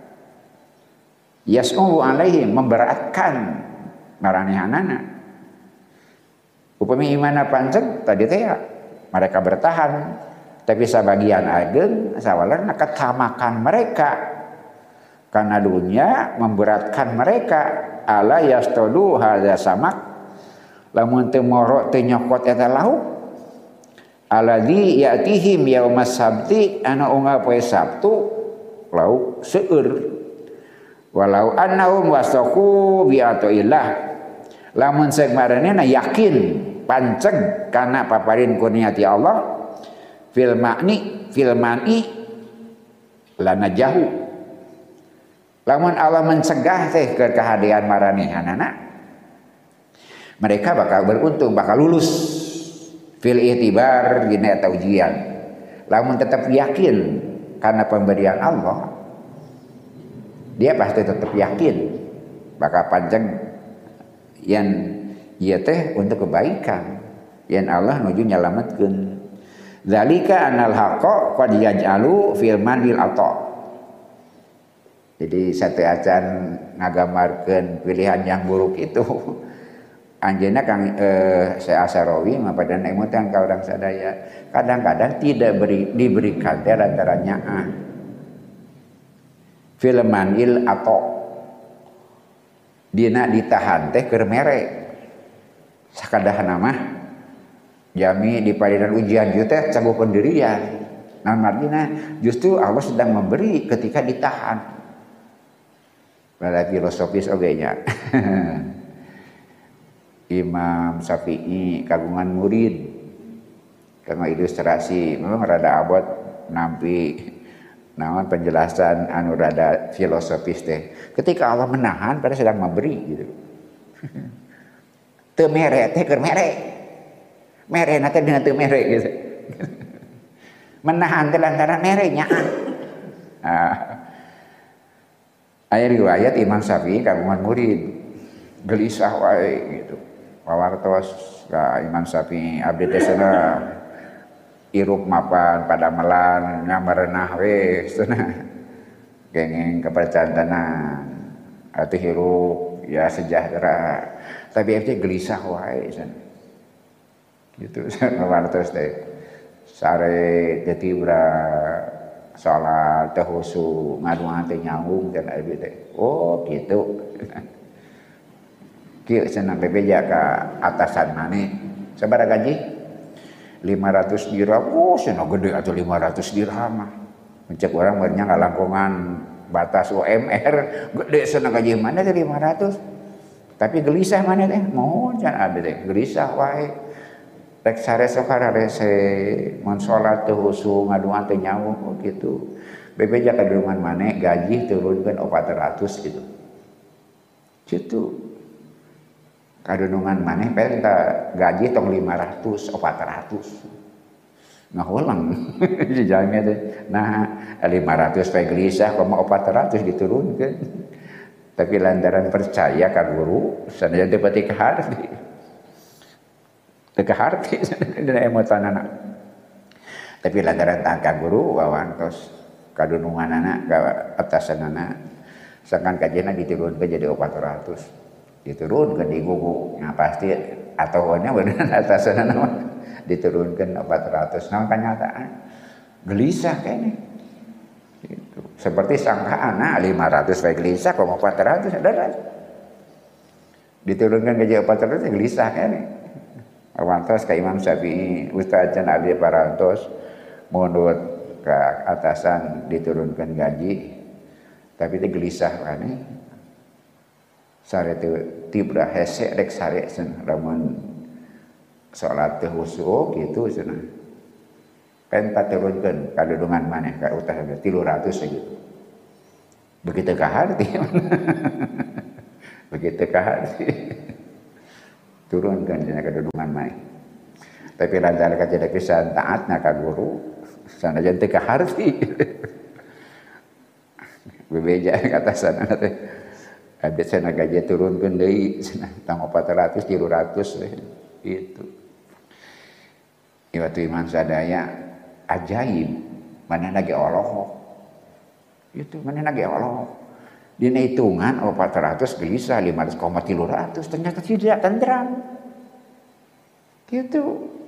Yas'uhu alaihim, memberatkan maranihanana. Upami imana pancen tadi teh ya, mereka bertahan, tapi sebagian ageng sawalarna ketamakan mereka karena dunia memberatkan mereka. Ala yastodu hadza samak lamun teu moro teu nyokot eta lauk alladzi ya'tihim yaumas sabti ana unggal poe Sabtu lauk seueur walau annahum wasaqu bi atoillah lamun seuk maranehna yakin panceg kana paparin kurniati Allah fil ma'ni fil mani lana jahu lamun Allah mencegah teh ke kehadiran maranehanana mereka bakal beruntung bakal lulus fil i'tibar dina eta ujian lamun tetap yakin karena pemberian Allah dia pasti tetap yakin bakal panjang yang ieu teh untuk kebaikan yang Allah nuju nyalametkeun. Zalika anal haqqa qad yaj'alu fil manil ata. Jadi satu acan ngagamarkeun pilihan yang buruk itu. Anjeunna Kang eh, Syekh Asarawi mapadan emutan ka urang sadaya. Kadang-kadang tidak beri, diberikan teh lantarannya ah. Fil manil ata. Dina ditahan teh keur mere. Sakadahana mah jami di padinan ujian ieu teh cago pendirian. Namun artinya justru Allah sedang memberi ketika ditahan. Pada filosofis oge nya. Imam Syafi'i kagungan murid. Kanggo ilustrasi memang rada abot nampi naon penjelasan anu rada filosofis teh. Ketika Allah menahan pada sedang memberi gitu. Teu mere teh keur mere. Mere na teh dina teu mere gitu. Menahan teh lantaran mere nya. Ah. Aya riwayat Imam Syafi'i kagungan murid gelisah wae gitu. Pawartos ka Imam Syafi'i abdi teh cenah irup mapan padamelan ngamareunah we cenah. Kenging kepercantanan atuh hirup ya sejahtera. Tapi itu gelisah wae san. Gitu pawartos teh. Sare tetibra salat teh husu ngaduan teh nyambung dan abi teh. Oh gitu. Kieu cenah bebeja ka atasan maneh. Sabaraha gaji? lima ratus dirham. Oh cenah gede atuh lima ratus dirham mah. Mencek urang meureunnya ngalangkungan batas U M R gede cenah gaji mana teh lima ratus. Tapi gelisah mana teh? Mohon can abi teh gelisah wae. Rek sare sakararese mun salat teh husu ngaduan teh nyambung gitu. Bebeja kadurungan maneh gaji turunkeun opat ratus gitu. Kitu. Kadurungan maneh penta gaji tong lima ratus opat ratus. Ngahulang jajangnya teh. Nah, lima ratus pe gelisah koma opat ratus diturunkeun. Tapi lantaran percaya ka guru, sanaya teu pati kaharti. Teu kaharti dina emotanana. Tapi lantaran tah ka guru wawantos kadununganana ka atasanana. Sakan kajena diturunkeun jadi opat ratus. Diturunkeun di gugu. Nah pasti atau nya bener atasan nama diturunkan empat ratus. Nah kenyataan gelisah kayaknya. Gitu. Seperti sangkaan, nah lima ratus baik gelisah, kok empat ratus ada. Diturunkan gaji empat ratus gelisah kayaknya. Awantos ke Imam Syafi'i, Ustaz Can Abdi Parantos mundur ke atasan diturunkan gaji, tapi itu gelisah kan nih. Sare itu tibra hese rek sare sen lamun salat teh khusyuk gitu cenah. Kan paturunkeun kadudungan maneh ka utah tiga ratus gitu. Begitu ka harti. Begitu ka harti. Turunkan cenah kadudungan maneh. Tapi lantaran kajada pisan taatna ka guru, sanajan teu ka harti. Bebeja kata sana teh. Ada sana gaji turunkan deui sana tang empat ratus tiga ratus itu. Iwatu iman sadaya ajaib mana lagi Allah. Itu mana lagi Allah. Dina hitungan empat ratus gelisah lima ratus koma tiga ratus ternyata tidak tentram. Gitu.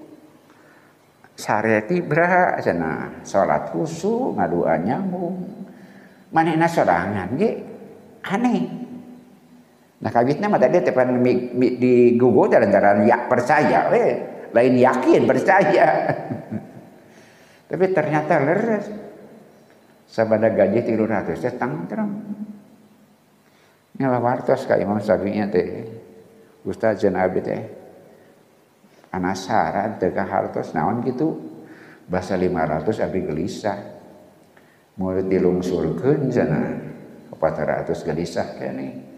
Sare tibra sana salat khusyuk ngadua nyambung. Manehna sorangan ge aneh. Nah kawitna mah tadi tepan di Google dalam ya percaya, we lain yakin percaya. Tapi ternyata leres. Sabada gaji tiga ratus teh tangtram. Ngawartos ka Imam Syafi'i teh. Ustaz Can Abdi teh. Anasaran teh ka hartos naon kitu. Basa lima ratus abdi gelisah. Murid dilungsurkeun cenah empat ratus gelisah keneh.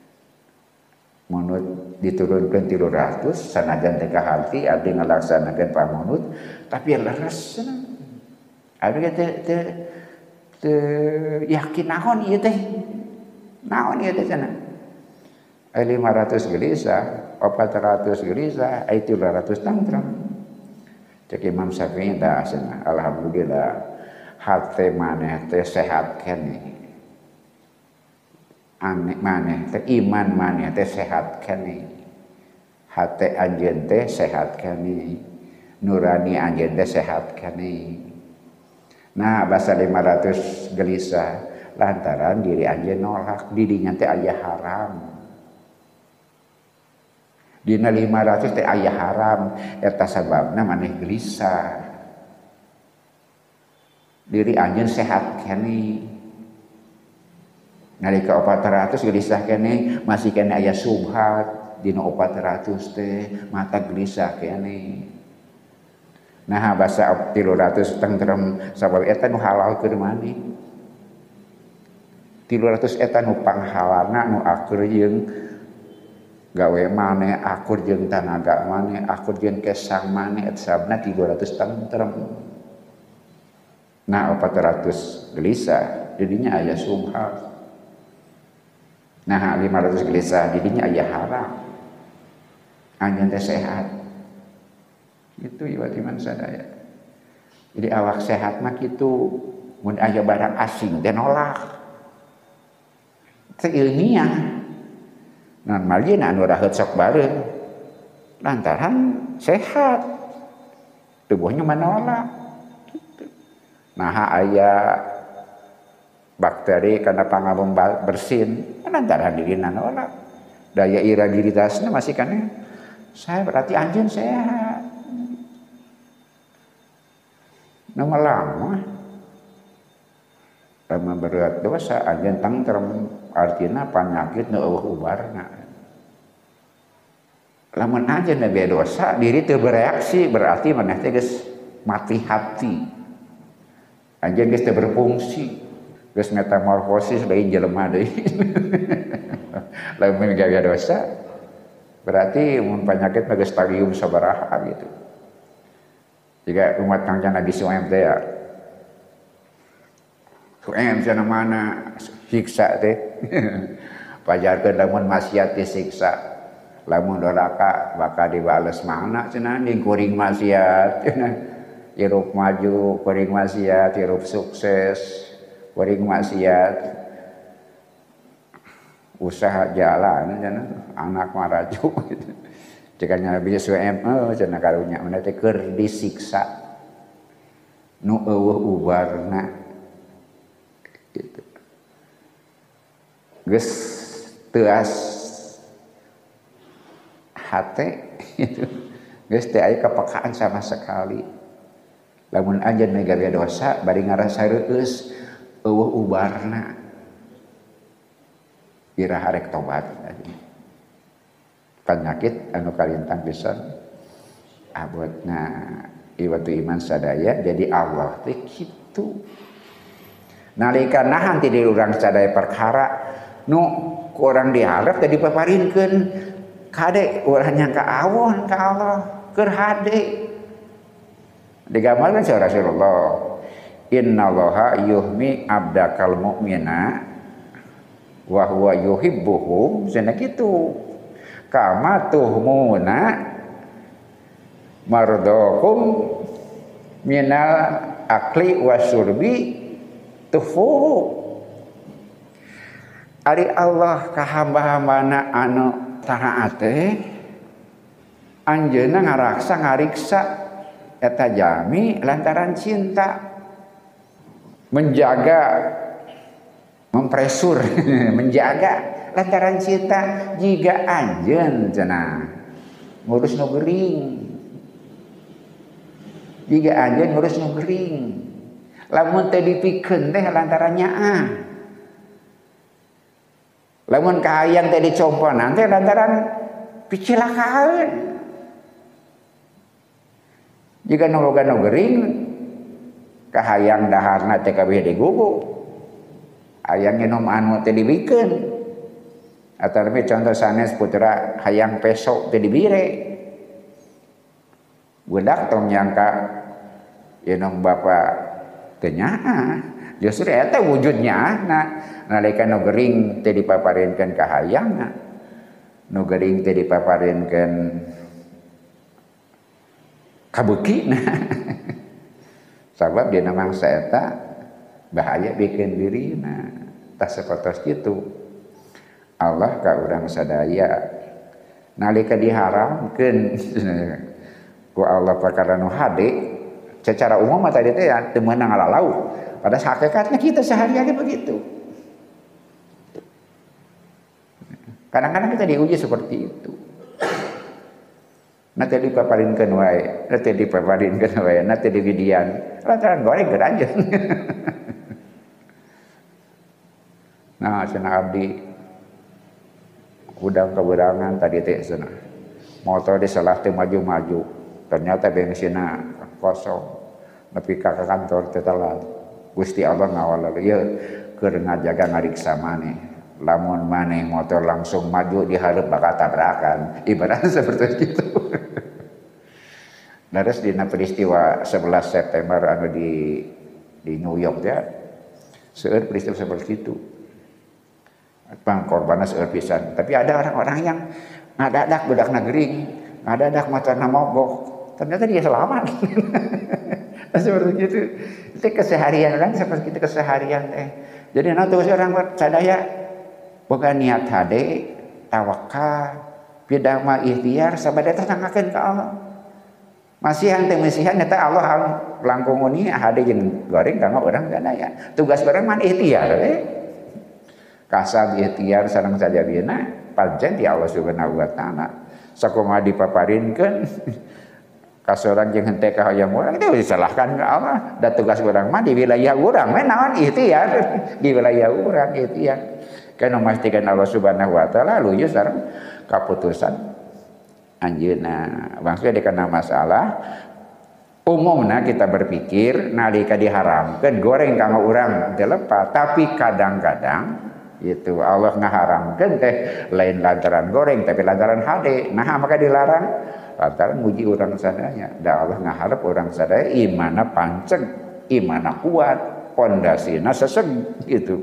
Munut diturunkan tiga ratus sanajan teh ka harti abdi ngalaksanakeun pamunut tapi leres cenah. Abdi teh teh teh yakin naon ieu teh. Naon ieu teh cenah. Ai lima ratus gelisah, empat ratus gelisah, ai tiga ratus tangtram. Cek Imam Syafi'i da cenah. Alhamdulillah hate maneh teh sehat keneh. Aneh maneh teh iman maneh teh sehat keneh. Hate anjeun teh sehat keneh. Nurani anjeun teh sehat keneh. Nah, basa lima ratus gelisah lantaran diri anjeun nolak didinya teh aya haram. Dina lima ratus teh aya haram, eta sababna maneh gelisah. Diri anjeun sehat keneh. Nalika empat ratus gelisah keneh masih keneh aya subhat dina empat ratus teh mata gelisah keneh. Nah basa tiga ratus tentrem sabab eta nu halal keur maneh. tiga ratus eta nu panghalalna nu akur jeung gawe maneh, akur jeung tanaga maneh, akur jeung kesang maneh eta sabna tiga ratus tentrem. Nah empat ratus gelisah jadinya aya subhat. Nah lima ratus gelisah didinya aya haram. Anjeun teh sehat. Itu iwat iman sadaya. Jadi awak sehat mah kitu mun aya barang asing teh nolak. Teu ilmiah. Naon malieun anu raheut sok bareung. Lantaran sehat. Tubuhnya menolak. Gitu. Nah aya bakteri karena pangabung bersin lantaran dirina nolak daya iragilitasnya masih kan saya berarti anjeun sehat nama lama lama berat dosa anjeun tangtrem artina penyakit nu eueuh ubarna lamun anjeun be dosa diri teu bereaksi berarti maneh teh geus mati hati anjeun geus teu berfungsi geus metamorfosis lain jelema deui. Lamun gawe dosa berarti mun penyakit mah geus stadium sabaraha gitu. Jika umat Kangjeng Nabi Suhaim teh ya. Suhaim cenah mana siksa teh. Pajarkeun lamun maksiat disiksa. Lamun doraka bakal dibales mana cenah ning kuring maksiat cenah. Hirup maju, kuring maksiat, hirup sukses. Kuring maksiat usaha jalan anak maraju gitu. Jika Nabi Su'aib oh cenah karunya mana teh keur disiksa nu eueuh ubarna gitu. Geus teu as hate gitu. Geus teu aya kepekaan sama sekali. Lamun anjeun megawé dosa bari ngarasa reueus eueuh ubarna. Iraha rek tobat. Penyakit anu kalintang pisan abotna iwatu iman sadaya jadi Allah teh kitu. Nalika nahan ti di urang sadaya perkara nu ku urang diharap teh dipaparinkeun kade urang nyangka awon ka Allah keur hade. Digambarkeun sa Rasulullah innallaha yuhmi abdakal mu'mina wa huwa yuhibbuhu cenah kitu. Kama tuhmuna mardokum minal akli wasyurbi tufuhu. Ari Allah ka hamba-hambana anu taat teh anjeunna ngaraksa ngariksa eta jami lantaran cinta, menjaga, mempresur menjaga lantaran cinta. Jika anjeun cenah ngurus nu geuring, jika anjeun ngurus nu geuring, lamun teu dipikeun teh lantaran nyaah, lamun kahayang teh dicomponan teh lantaran picilakaan. Jika nu boga nu geuring kahayang daharna teh kabeh digugu, hayang nginum anu teh dibikeun. Atau lebih contoh sanes putra hayang peso teh dibire. Budak tong nyangka yenong bapa teu nyaah. Justru eta wujudnya nah nalika nu geuring teh dipaparinkeun ka hayangna. Nu geuring teh dipaparinkeun ka beukina. Sabab dina mangsa eta bahaya bikin dirina. Tah sapertos kitu. Allah ka urang sadaya nalika diharamkeun ku Allah perkara nu hade secara umum mah tadi teh ya teu meunang ngalalau. Pada hakikatnya kita sehari-hari begitu. Kadang-kadang kita diuji seperti itu. Nanti dipaparinkeun wae, nanti dipaparinkeun wae, nanti diwidian. Lantaran goreng keur anjeun. Nah, cenah abdi udang keberangan tadi teh cenah. Motor disalah teh maju-maju. Ternyata bensinna kosong. Nepi ka kantor teh telat. Gusti Allah ngawal ieu keur ngajaga ngariksa maneh. Lamun maneh motor langsung maju dihareup bakal tabrakan. Ibaratnya seperti itu. Dados dina peristiwa sebelas September anu di di New York ya. Seueur peristiwa seperti itu. Pangkorbanna seueur pisan. Tapi ada orang-orang yang ngadadak budak nagering, ngadadak motorna mogok. Ternyata dia selamat. Seperti itu. Itu keseharian orang seperti itu keseharian teh. Jadi nanti orang sadaya boga niat hade, tawakal, pidama ikhtiar sabada teh tangakeun ka Allah. Masihan teh masihan eta Allah langkung uni hade jeung goreng kanggo urang sadaya. Tugas bareng man ikhtiar we. Kasab ikhtiar sareng sajabina pancen ti Allah Subhanahu wa taala. Sakumaha dipaparinkeun ka sorang jeung henteu ka hayang urang teh disalahkan ka Allah. Da tugas urang mah di wilayah urang we naon ikhtiar di wilayah urang ikhtiar. Kana memastikan Allah Subhanahu wa taala luyu sareng kaputusan anjeunna. Maksudnya dikana masalah umumna kita berpikir nalika diharamkeun goreng kanggo urang teu lepat, tapi kadang-kadang itu Allah ngaharamkeun teh lain lantaran goreng tapi lantaran hade. Nah maka dilarang lantaran muji urang sadaya. Da Allah ngaharep urang sadaya imanna panceg, imanna kuat, pondasina seseg gitu.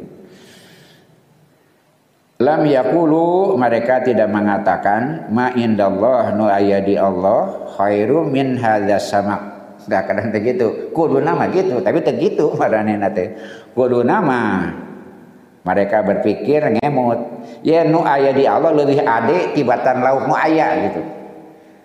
Lam yaqulu mereka tidak mengatakan ma indallah nu aya di Allah khairu min hadzas samak. Da kadang teh gitu. Kuduna mah gitu, tapi teh gitu maranehna teh. Kuduna mah mereka berpikir ngemut. Ya nu aya di Allah leuwih ade tibatan lauk nu aya gitu.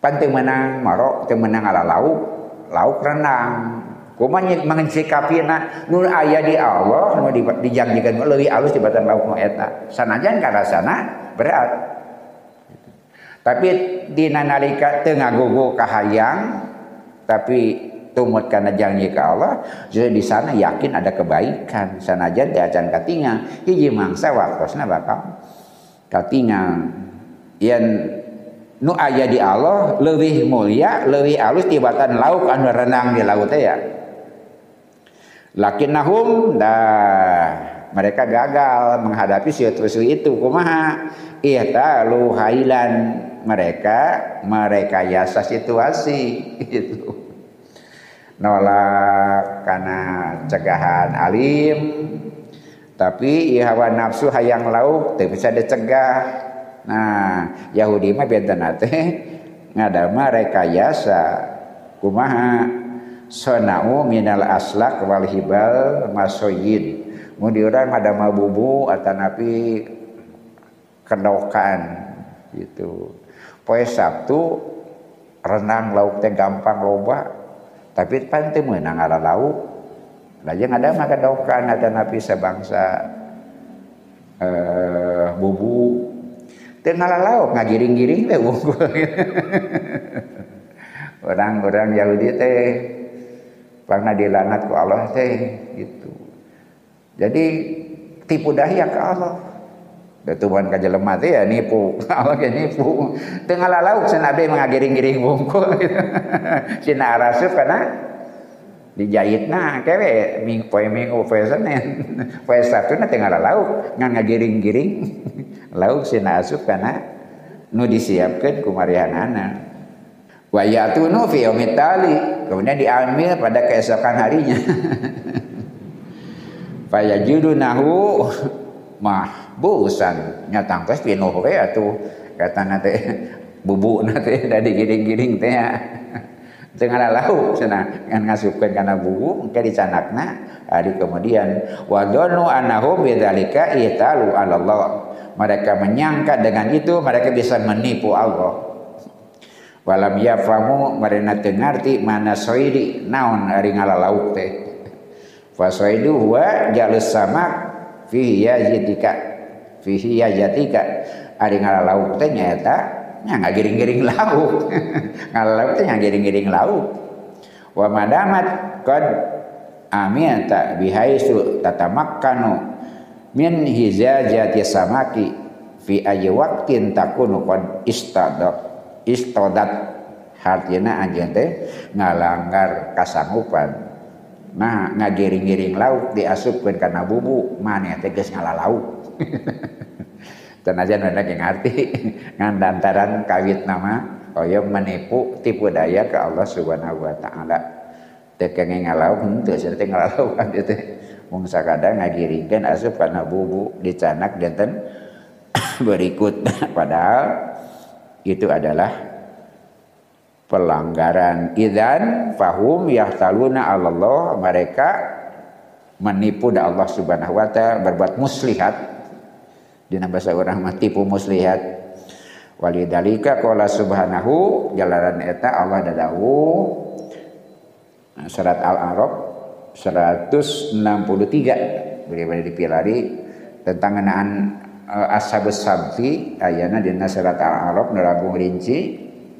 pan teu meunang marok teu meunang ala lauk lauk renang kumaha menginsikapiana nu aya di Allah nu dijanjikeun leuwih alus tibatan lauk nu eta sanajan karasana berat tapi dina nalika teu ngagogo ka hayang tapi tumut kana janji ka Allah jadi di sana yakin ada kebaikan sanajan teu acan katingal hiji mangsa waktosna bakal katingal yen nu aya di Allah leuwih mulia leuwih alus tibatan lauk anu renang di laut teh ya lakinnahum dah mereka gagal menghadapi situasi itu kumaha ihtalu hailan mereka merekayasa situasi gitu nolak karena cegahan alim tapi hawa nafsu hayang lauk teu bisa dicegah. Nah Yahudi mah bentana teh ngadama rekayasa kumaha sonau minal aslak wal hibal masoyid mun di urang ngadama bubu atanapi kedokan gitu poe Sabtu renang lauk teh gampang loba tapi pan teu meunang ala lauk lajeng ngadama kedokan atanapi sabangsa eh bubu teu ngalauk ngagiring-giring teh unggul orang-orang Yahudi teh pernah dilanat ku Allah teh gitu. Jadi tipu daya ke Allah. Da tuan ka jelema teh ya nipu. Allah ge nipu. Teu ngalalauk cenah abdi ngagiring-giring bungkul gitu. Cenah arasup kana dijahitna kewe ming poe minggu poe Senin. Poe Sabtu na teu ngalalauk ngan ngagiring-giring. Lauk cenah asup kana nu disiapkeun ku marihanana. Wa yatunu fi yaumit tali kemudian diambil pada keesokan harinya fayajudunahu mahbusan nyatangkeus pinuh we atuh katana teh bubuna teh da digiring-giring teh teu ngalalau cenah ngan ngasupkeun kana bubu engke dicanakna hari kemudian wa dhannu annahum bidzalika italu 'ala Allah mereka menyangka dengan itu mereka bisa menipu Allah. Walam yafamu marina teu ngarti mana soidi naon ari ngalalauk teh fa soidu huwa jalus samak fihi yajatika fihi yajatika ari ngalalauk teh nyaeta nya ngagiring-giring lauk ngalalauk teh nya giring-giring lauk wa madamat qad amiyata bihaisu tatamakkanu min hizajati samaki fi ayyi waqtin takunu qad istadat istodat hartina anjeun teh ngalanggar kasanggupan nah ngagiring-giring lauk diasupkeun kana bubu maneh teh geus ngalalauk tanajan mana ge ngarti ngan dantaran kawit nama hoyong menipu tipu daya ke Allah Subhanahu wa taala teu kenging ngalauk henteu sia teh ngalalauk abdi teh mung sakadang ngagiringkeun asup kana bubu dicanak dinten berikut padahal itu adalah pelanggaran idzan fahum yahtaluna 'ala Allah mereka menipu da Allah Subhanahu wa taala berbuat muslihat dina basa urang mah tipu muslihat walidalika qala subhanahu jalaran eta Allah dadawuh surat Al-A'raf seratus enam puluh tiga bagaimana dipilari tentang ngenaan Ashabus Sabti ayana dina surat Al-A'raf nerabung rinci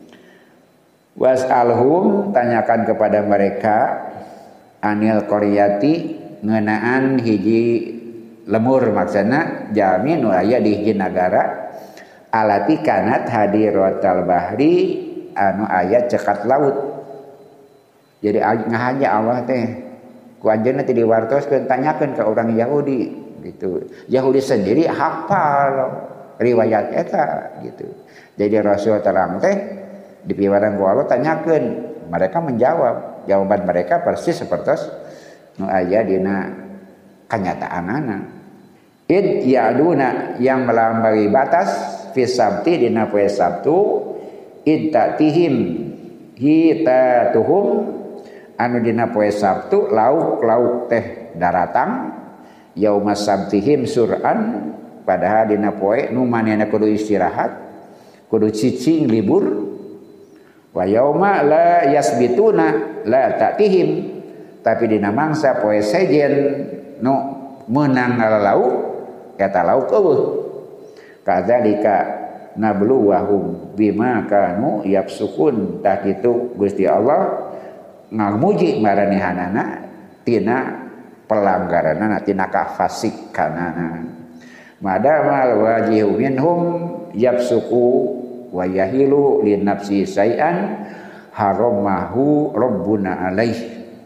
was'alhum tanyakan kepada mereka anil qaryati ngeunaan hiji lemur maksudna jami nu aya di hiji nagara alati kanat hadiratal bahri anu aya cekat laut jadi ngahaja Allah teh ku anjeunna teh diwartoskeun tanyakeun ka orang Yahudi gitu. Yahudi sendiri hafal riwayat eta gitu. Jadi Rasul terang teh dipiwaran ku Allah tanyakeun, mereka menjawab. Jawaban mereka persis seperti nu aya dina kanyataanana. Id ya'duna yang melampaui batas fi sabti dina poe Sabtu id ta'tihim hitatuhum anu dina poe Sabtu lauk-lauk teh daratang yauma sabtihim sur'an padahal dina poe nu manehna kudu istirahat kudu cicing libur Wa yauma la yasbituna la ta'tihim, tapi dina mangsa poe sejen nu meunang ngalalau eta lauk eueuh. Kadzalika nabluwahum bima kanu yafsukun, tah kitu Gusti Allah ngamuji maranehanana tina pelanggaranana, tina kafasikanana. Madamal wajihu minhum yafsuku wa yahilu li nafsi syai'an haramahu rabbuna alaih.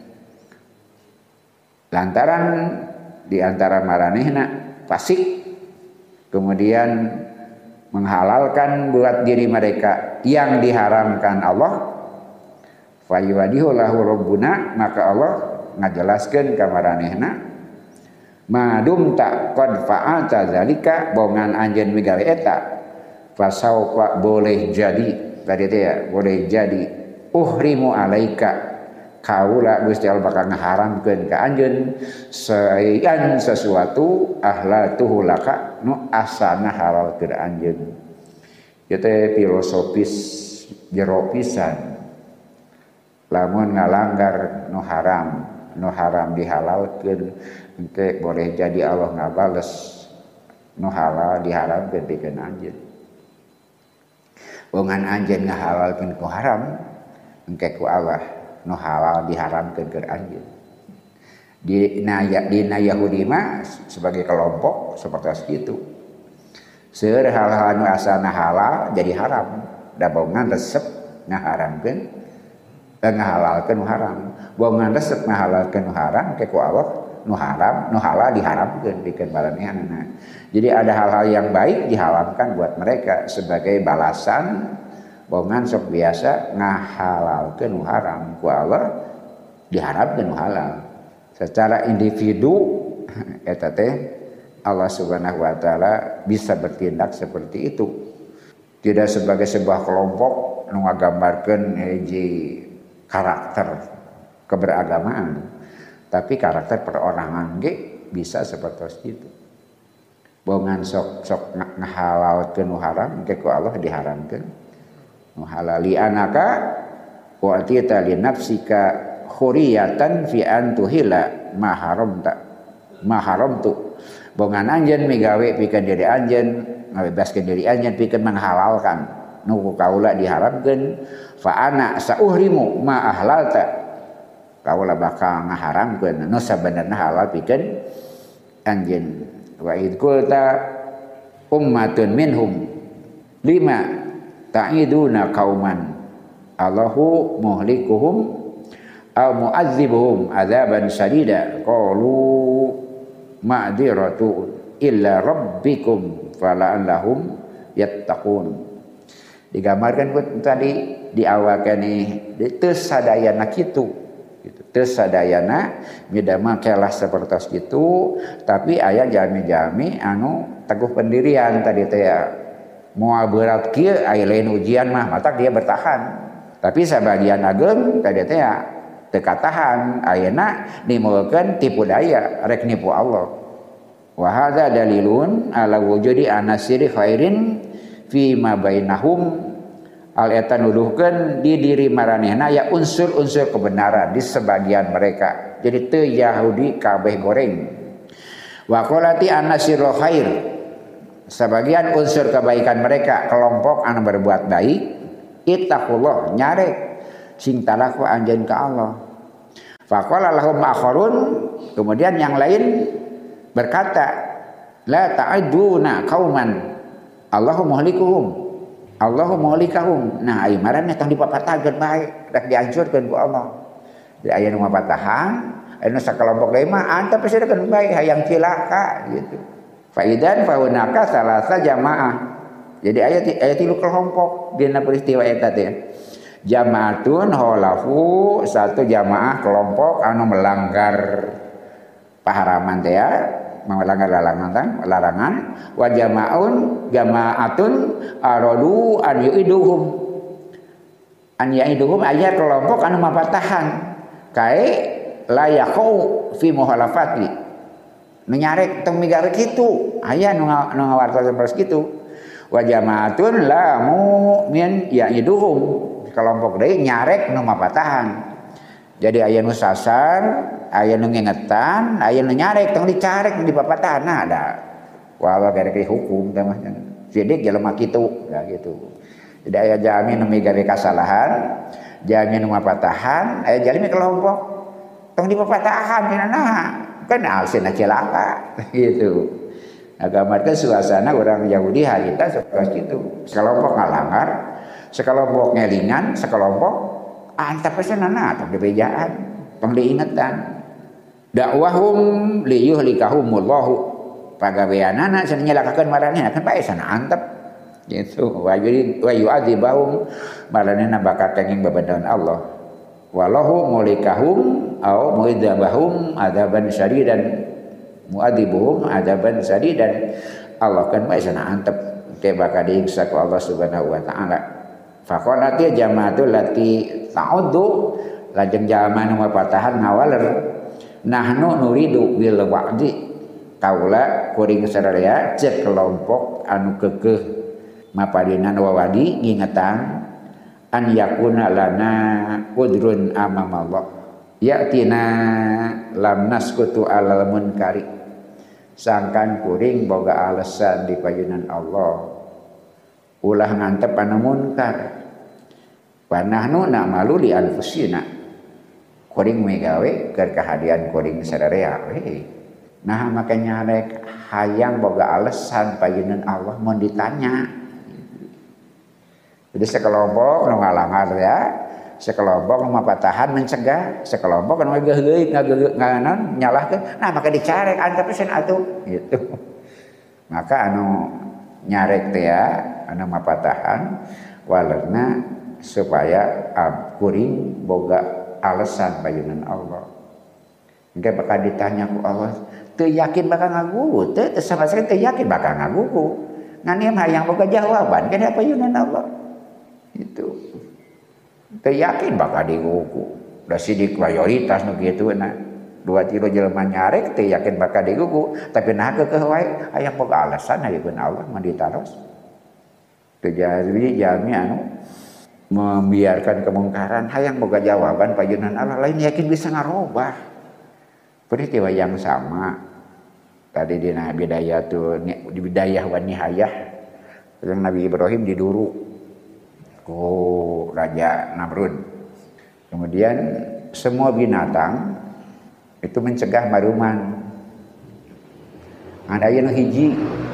Lantaran di antara maranehna fasik, kemudian menghalalkan buat diri mereka yang diharamkan Allah, fayuwadihu lahu rabbuna, maka Allah ngajelaskeun ka maranehna madum tak qad fa'ata zalika, bongan anjeun migawe eta fasaufa boleh jadi tadi teh ya, boleh jadi uhrimu alaika, kaula Gusti Allah bakal ngaharamkeun ka anjeun sayan sesuatu ahlatuhu laka nu asana halal ke anjeun. Ieu teh filosofis jero pisan. Lamun ngalanggar nu haram, nu haram dihalalkeun engke boleh jadi Allah ngabales nu halal diharamkeun pikeun anjeun. Bongan anjeun ngahalalkeun ku haram engke ku Allah nu halal diharamkeun ke anjeun. Di dina Yahudi mah sebagai kelompok seperti itu. Seueur hal-hal nu asalna halal jadi haram, da bongan resep ngaharamkeun ngahalalkeun nu haram. Bongan resep ngahalalkeun nu haram ke ku Allah nu haram, nu halal diharamkeun pikeun baranehanana. Jadi ada hal-hal yang baik diharamkan buat mereka sebagai balasan bongan sok biasa ngahalalkeun nu haram, ku Allah diharamkeun nu halal. Secara individu eta teh Allah Subhanahu wa taala bisa bertindak seperti itu. Tidak sebagai sebuah kelompok nu ngagambarkeun hiji karakter keberagamaan, tapi karakter perorangan ge bisa seperti itu. Bongan sok sok ngahalalkeun nu haram ke ku Allah diharamkeun nu halal. Li anaka wa atita li nafsika khuriyatan fi an tuhila ma haramta ma haramtu. Bongan anjeun migawe pikeun diri anjeun, ngabebaskeun diri anjeun pikeun menghalalkan nu ku kaula diharamkeun, fa ana sauhrimu ma ahlalta, kaula bakal ngaharamkeun nu sabenerna halal pikeun anjeun. Wa id qulta ummatun minhum lima ta'iduna qauman Allahu muhlikuhum aw mu'adzibuhum adzaban syadida qalu ma'dziratu illa rabbikum fala'allahum yattaqun. Digambarkan pun tadi di awal kene teu sadayana kitu gitu. Teu sadayana midamel kelah sapertos kitu, tapi aya jami-jami anu teguh pendirian tadi teh ya. Moal berat kieu aya lain ujian mah matak dia bertahan. Tapi sabagian ageng tadi teh ya teu katahan, ayeuna nimulkeun tipu daya rek nipu Allah. Wa hadza dalilun ala wujudi anasiri khairin fi ma bainahum. Al eta nuduhkeun di diri maranehna ya unsur-unsur kebenaran di sebagian mereka. Jadi teu Yahudi kabeh goreng. Wa qalati anasirul khair, sebagian unsur kebaikan mereka, kelompok anu berbuat baik, ittaqullah nyarek sing talaku anjeun ka Allah. Faqala lahum akharun, kemudian yang lain berkata, la ta'iduna qauman Allahu muhlikuhum Allahu muhlikahum. Nah ai maraneh tong dipapatageun bae, dak dihancurkeun ku Allah. Di aya nu mapatahan, anu sakelompok deui mah antep pesirekeun bae hayang cilaka gitu. Faidan faunaka salasa jamaah. Jadi ayat ayat tilu kelompok dina peristiwa eta teh. Jamaatun holafu, satu jamaah kelompok anu melanggar paharaman teh ya, melanggar larangan larangan. Wa jamaun jamaatun aradu an yuiduhum. An yuiduhum aya kelompok anu mapatahan kae layaqau fi muhalafati. Menyarek tong migawe kitu, aya nu nu ngawartos sapertos kitu. Wa jamaatun la mu'min ya'iduhum, sekelompok deui nyarek nu mapatahan. Jadi aya nu sasar, aya nu ngingetan, aya nu nyarek tong dicarek di papatahan nah ada. Walau gara ke hukum teh mah. Sidik jelema kitu, ya gitu. Jadi aya jami nu migawe kasalahan, jami nu mapatahan, aya jalmi kelompok tong di papatahan dina naha. Kan alsina cilaka gitu. Agamarkeun suasana orang Yahudi harita seperti itu. Sekelompok ngalanggar, sekelompok ngelingan, sekelompok antap pesanana tong dibejaan, tong diingetan. Dakwahum liyuhlikahumullahu. Pagaweanana cenah nyelakakeun maranehna kan bae sana antep gitu. Wa yuri wa yu'adzibahum maranehna bakal kenging babadaun Allah. Walahu mulikahum au muidzabahum adzaban syadidan mu'adzibuhum adzaban syadidan. Allah kan bae sana antep teh bakal diiksa ku Allah Subhanahu wa taala. Faqalati jamaatul lati ta'uddu lajeng jalma nu mapatahan ngawaler nahnu nuridu bil wa'di kaula kuring sadaya cek kelompok anu keukeuh mapadinan wawadi ngingetan an yakuna lana qudrun amamallah yatina lam naskutu alal munkari sangkan kuring boga alasan di payunan Allah ulah ngantep anu munkar wa nahnu na'malu li anfusina kuring megawe keur kahadian kuring sadaya we. Nah makanya rek hayang boga alasan payeunan Allah mun ditanya. Jadi sekelompok nu ngalangar ya, sekelompok nu mapatahan mencegah, sekelompok nu ngageuheuk ngagaeunan nyalahkeun. Nah maka dicarek antep pesen atuh gitu. Maka anu nyarek teh ya, anu mapatahan walerna supaya kuring boga alasan payeunan Allah. Engke bakal ditanya ku Allah, teu yakin bakal ngagugu, teu sama sekali teu yakin bakal ngagugu. Ngan ieu hayang boga jawaban kana payeunan Allah. Itu. Teu yakin bakal digugu. Da sidik mayoritas nu kitu na. Dua tilu jelema nyarek teu yakin bakal digugu, tapi nah keukeuh wae hayang boga alasan hayeun Allah mah ditaros. Teu jadi jami anu membiarkan kemungkaran hayang boga jawaban payeunan Allah lain yakin bisa ngarobah peristiwa yang sama tadi di bidayah tuh di bidayah wa nihayah yang Nabi Ibrahim diduru ku Raja Namrud kemudian semua binatang itu mencegah maruman ada yang hiji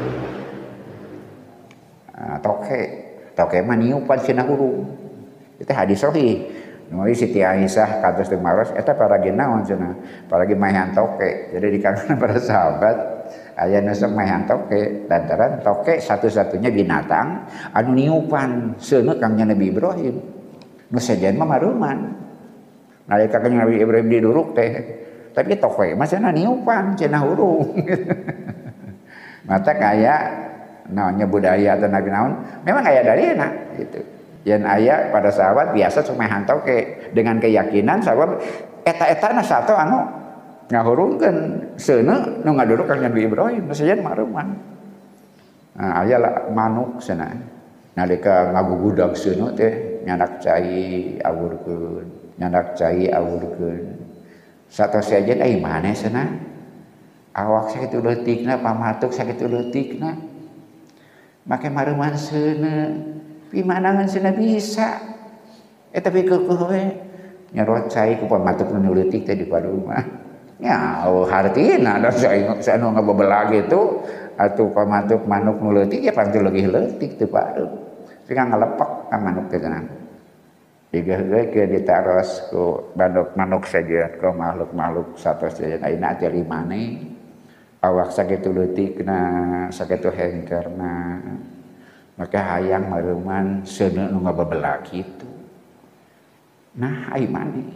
nah, toke toke mah niupan cenah hurung itu hadis sahih. Numari Siti Aisyah kados teu maros eta paragi naon cenah? Paragi maehan toke. Jadi di kalangan para sahabat aya nu sok maehan toke lantaran toke satu-satunya binatang anu niupan seuneu kangnya Nabi Ibrahim. Nu sejen mah maruman. Nalika kangnya Nabi Ibrahim diduruk teh tapi toke mah cenah niupan cenah hurung. Mata kaya naonnya budaya atau nabi naon memang aya dalilna gitu. Yang ayah pada sahabat biasa cuma hantoke dengan keyakinan sahabat eta-eta na satu anu ngahurungkeun seuneu nu ngaduruk ka Nabi Ibrahim sajen maruman. Nah aya lah manuk cenah. Nalika ngagugudag seuneu teh nyandak cai awurkeun, nyandak cai awurkeun. Satos sajen ai maneh cenah. Awak sakitu leutikna pamatuk sakitu leutikna. Make maruman seuneu pimanangan cenah bisa eta tapi keukeuh we nyarot cai ku pamatuk nu leutik teh di padumah nya oh hartina da sanu ngabebelag itu atuh pamatuk manuk nu leutik ya pasti leuwih leutik teu paeum sing ngalepek ka manuk teh tenang digeuh ke ditaros ku manuk-manuk saja ku makhluk-makhluk satos saja ayeuna teh limane awak sakitu leutikna sakitu hengkerna maka hayang maruman seuneu nu ngabebelag kitu. Nah, ai mani.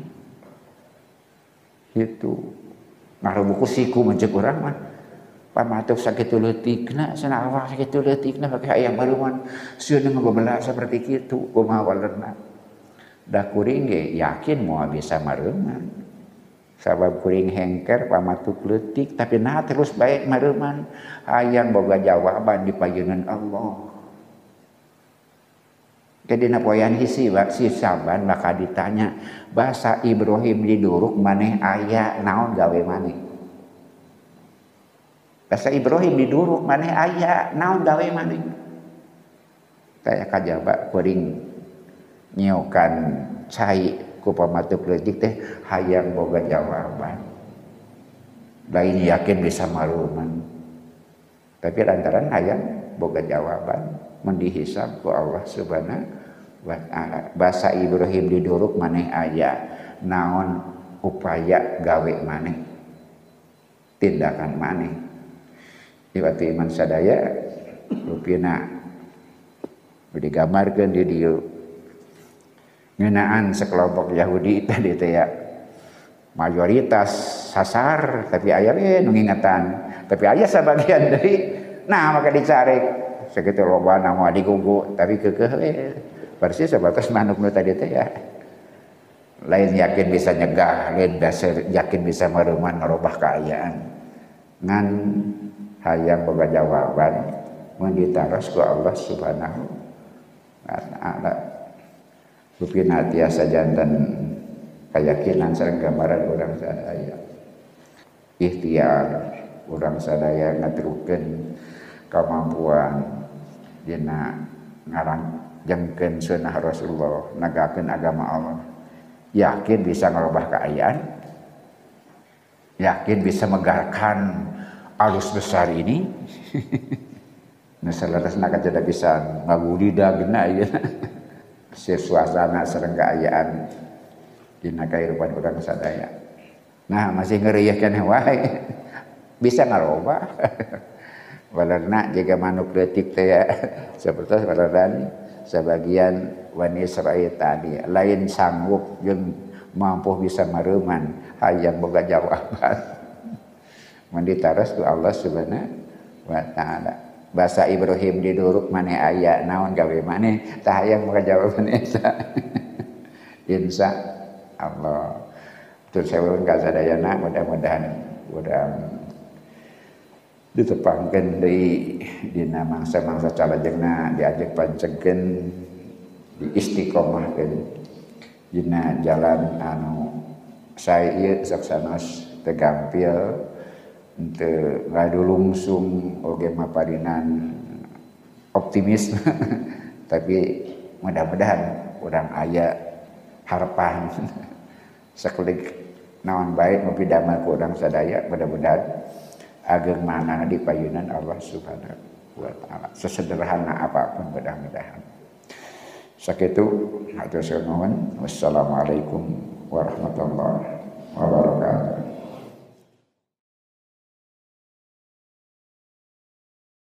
Kitu. Ngarubuku siku menceuk urang mah. Pamatuk sakitu leutikna, cenah awak sakitu leutikna maka hayang maruman seuneu ngabebelag saperti kitu kumaha walerna. Da kuring ge yakin moal bisa maruman. Sabab kuring hengker pamatuk leutik tapi nah terus bae maruman hayang boga jawaban di payeunan Allah. Kedina poyan hisi si saban maka ditanya bahasa Ibrahim di Duruk maneh aya naon gawe maneh. Bahasa Ibrahim di Duruk maneh aya naon gawe maneh. Kayak kajaba kuring nyiokan cai ku pamatuk leutik teh hayang boga jawaban. Lain yakin bisa maluman. Tapi lantaran hayang boga jawaban mendihisab ku Allah Subhanahu wa ta'ala. Bahasa Ibrahim di Duruk maneh aya naon upaya gawe maneh. Tindakan maneh. Iwati iman sadaya rupina digambarkeun di dieu ngeunaan sekelompok Yahudi tadi teh ya mayoritas sasar tapi aya we nu ngingetan tapi aya sabagian deui nah maka dicarek sakitu loba na moal digugu tapi keukeuh we persis sebatas manuk nu tadi teh ya lain yakin bisa nyegah lain dasar yakin bisa mereuman merubah kaayaan ngan hayang boga jawaban mun ditaros ku Allah Subhanahu wa ta'ala. Rupina tiasa jantan keyakinan sareng gambaran urang sadaya. Ikhtiar urang sadaya ngatrukeun kemampuan dina ngarangjengkeun sunnah Rasulullah, nagakeun agama Allah. Yakin bisa ngerubah keadaan. Yakin bisa megarkan arus besar ini. Nah salerosna kada bisa ngagudidagna ieu. Suasana sareng kaayaan dina kahirupan urang sadaya. Nah masih ngeureuyeuh keneh wae. Bisa ngarobah. Walerna jaga manuk leutik teh ya sapertos waleran sebagian Bani Israil tadi lain sanggup jeung mampu bisa mareuman hayang boga jawaban. Mun ditaros ku Allah Subhanahu wa ta'ala. Bahasa Ibrahim di Duruk maneh aya naon gawe maneh tah hayang boga jawaban eta. Insya Allah. Tur saweueun ka sadayana mudah-mudahan urang ditepangkeun deui dina mangsa-mangsa calajengna diajak pancegkeun diistiqomahkeun dina jalan anu sae ieu saksanos teu gampil teu ngadulungsung oge maparinan optimis tapi mudah-mudahan urang aya harapan sakulik naon bae nu pidamel ku urang sadaya mudah-mudahan ageng manana di payunan Allah Subhanahu wa ta'ala sesederhana apapun mudah-mudahan sakitu hatur nuhun wassalamualaikum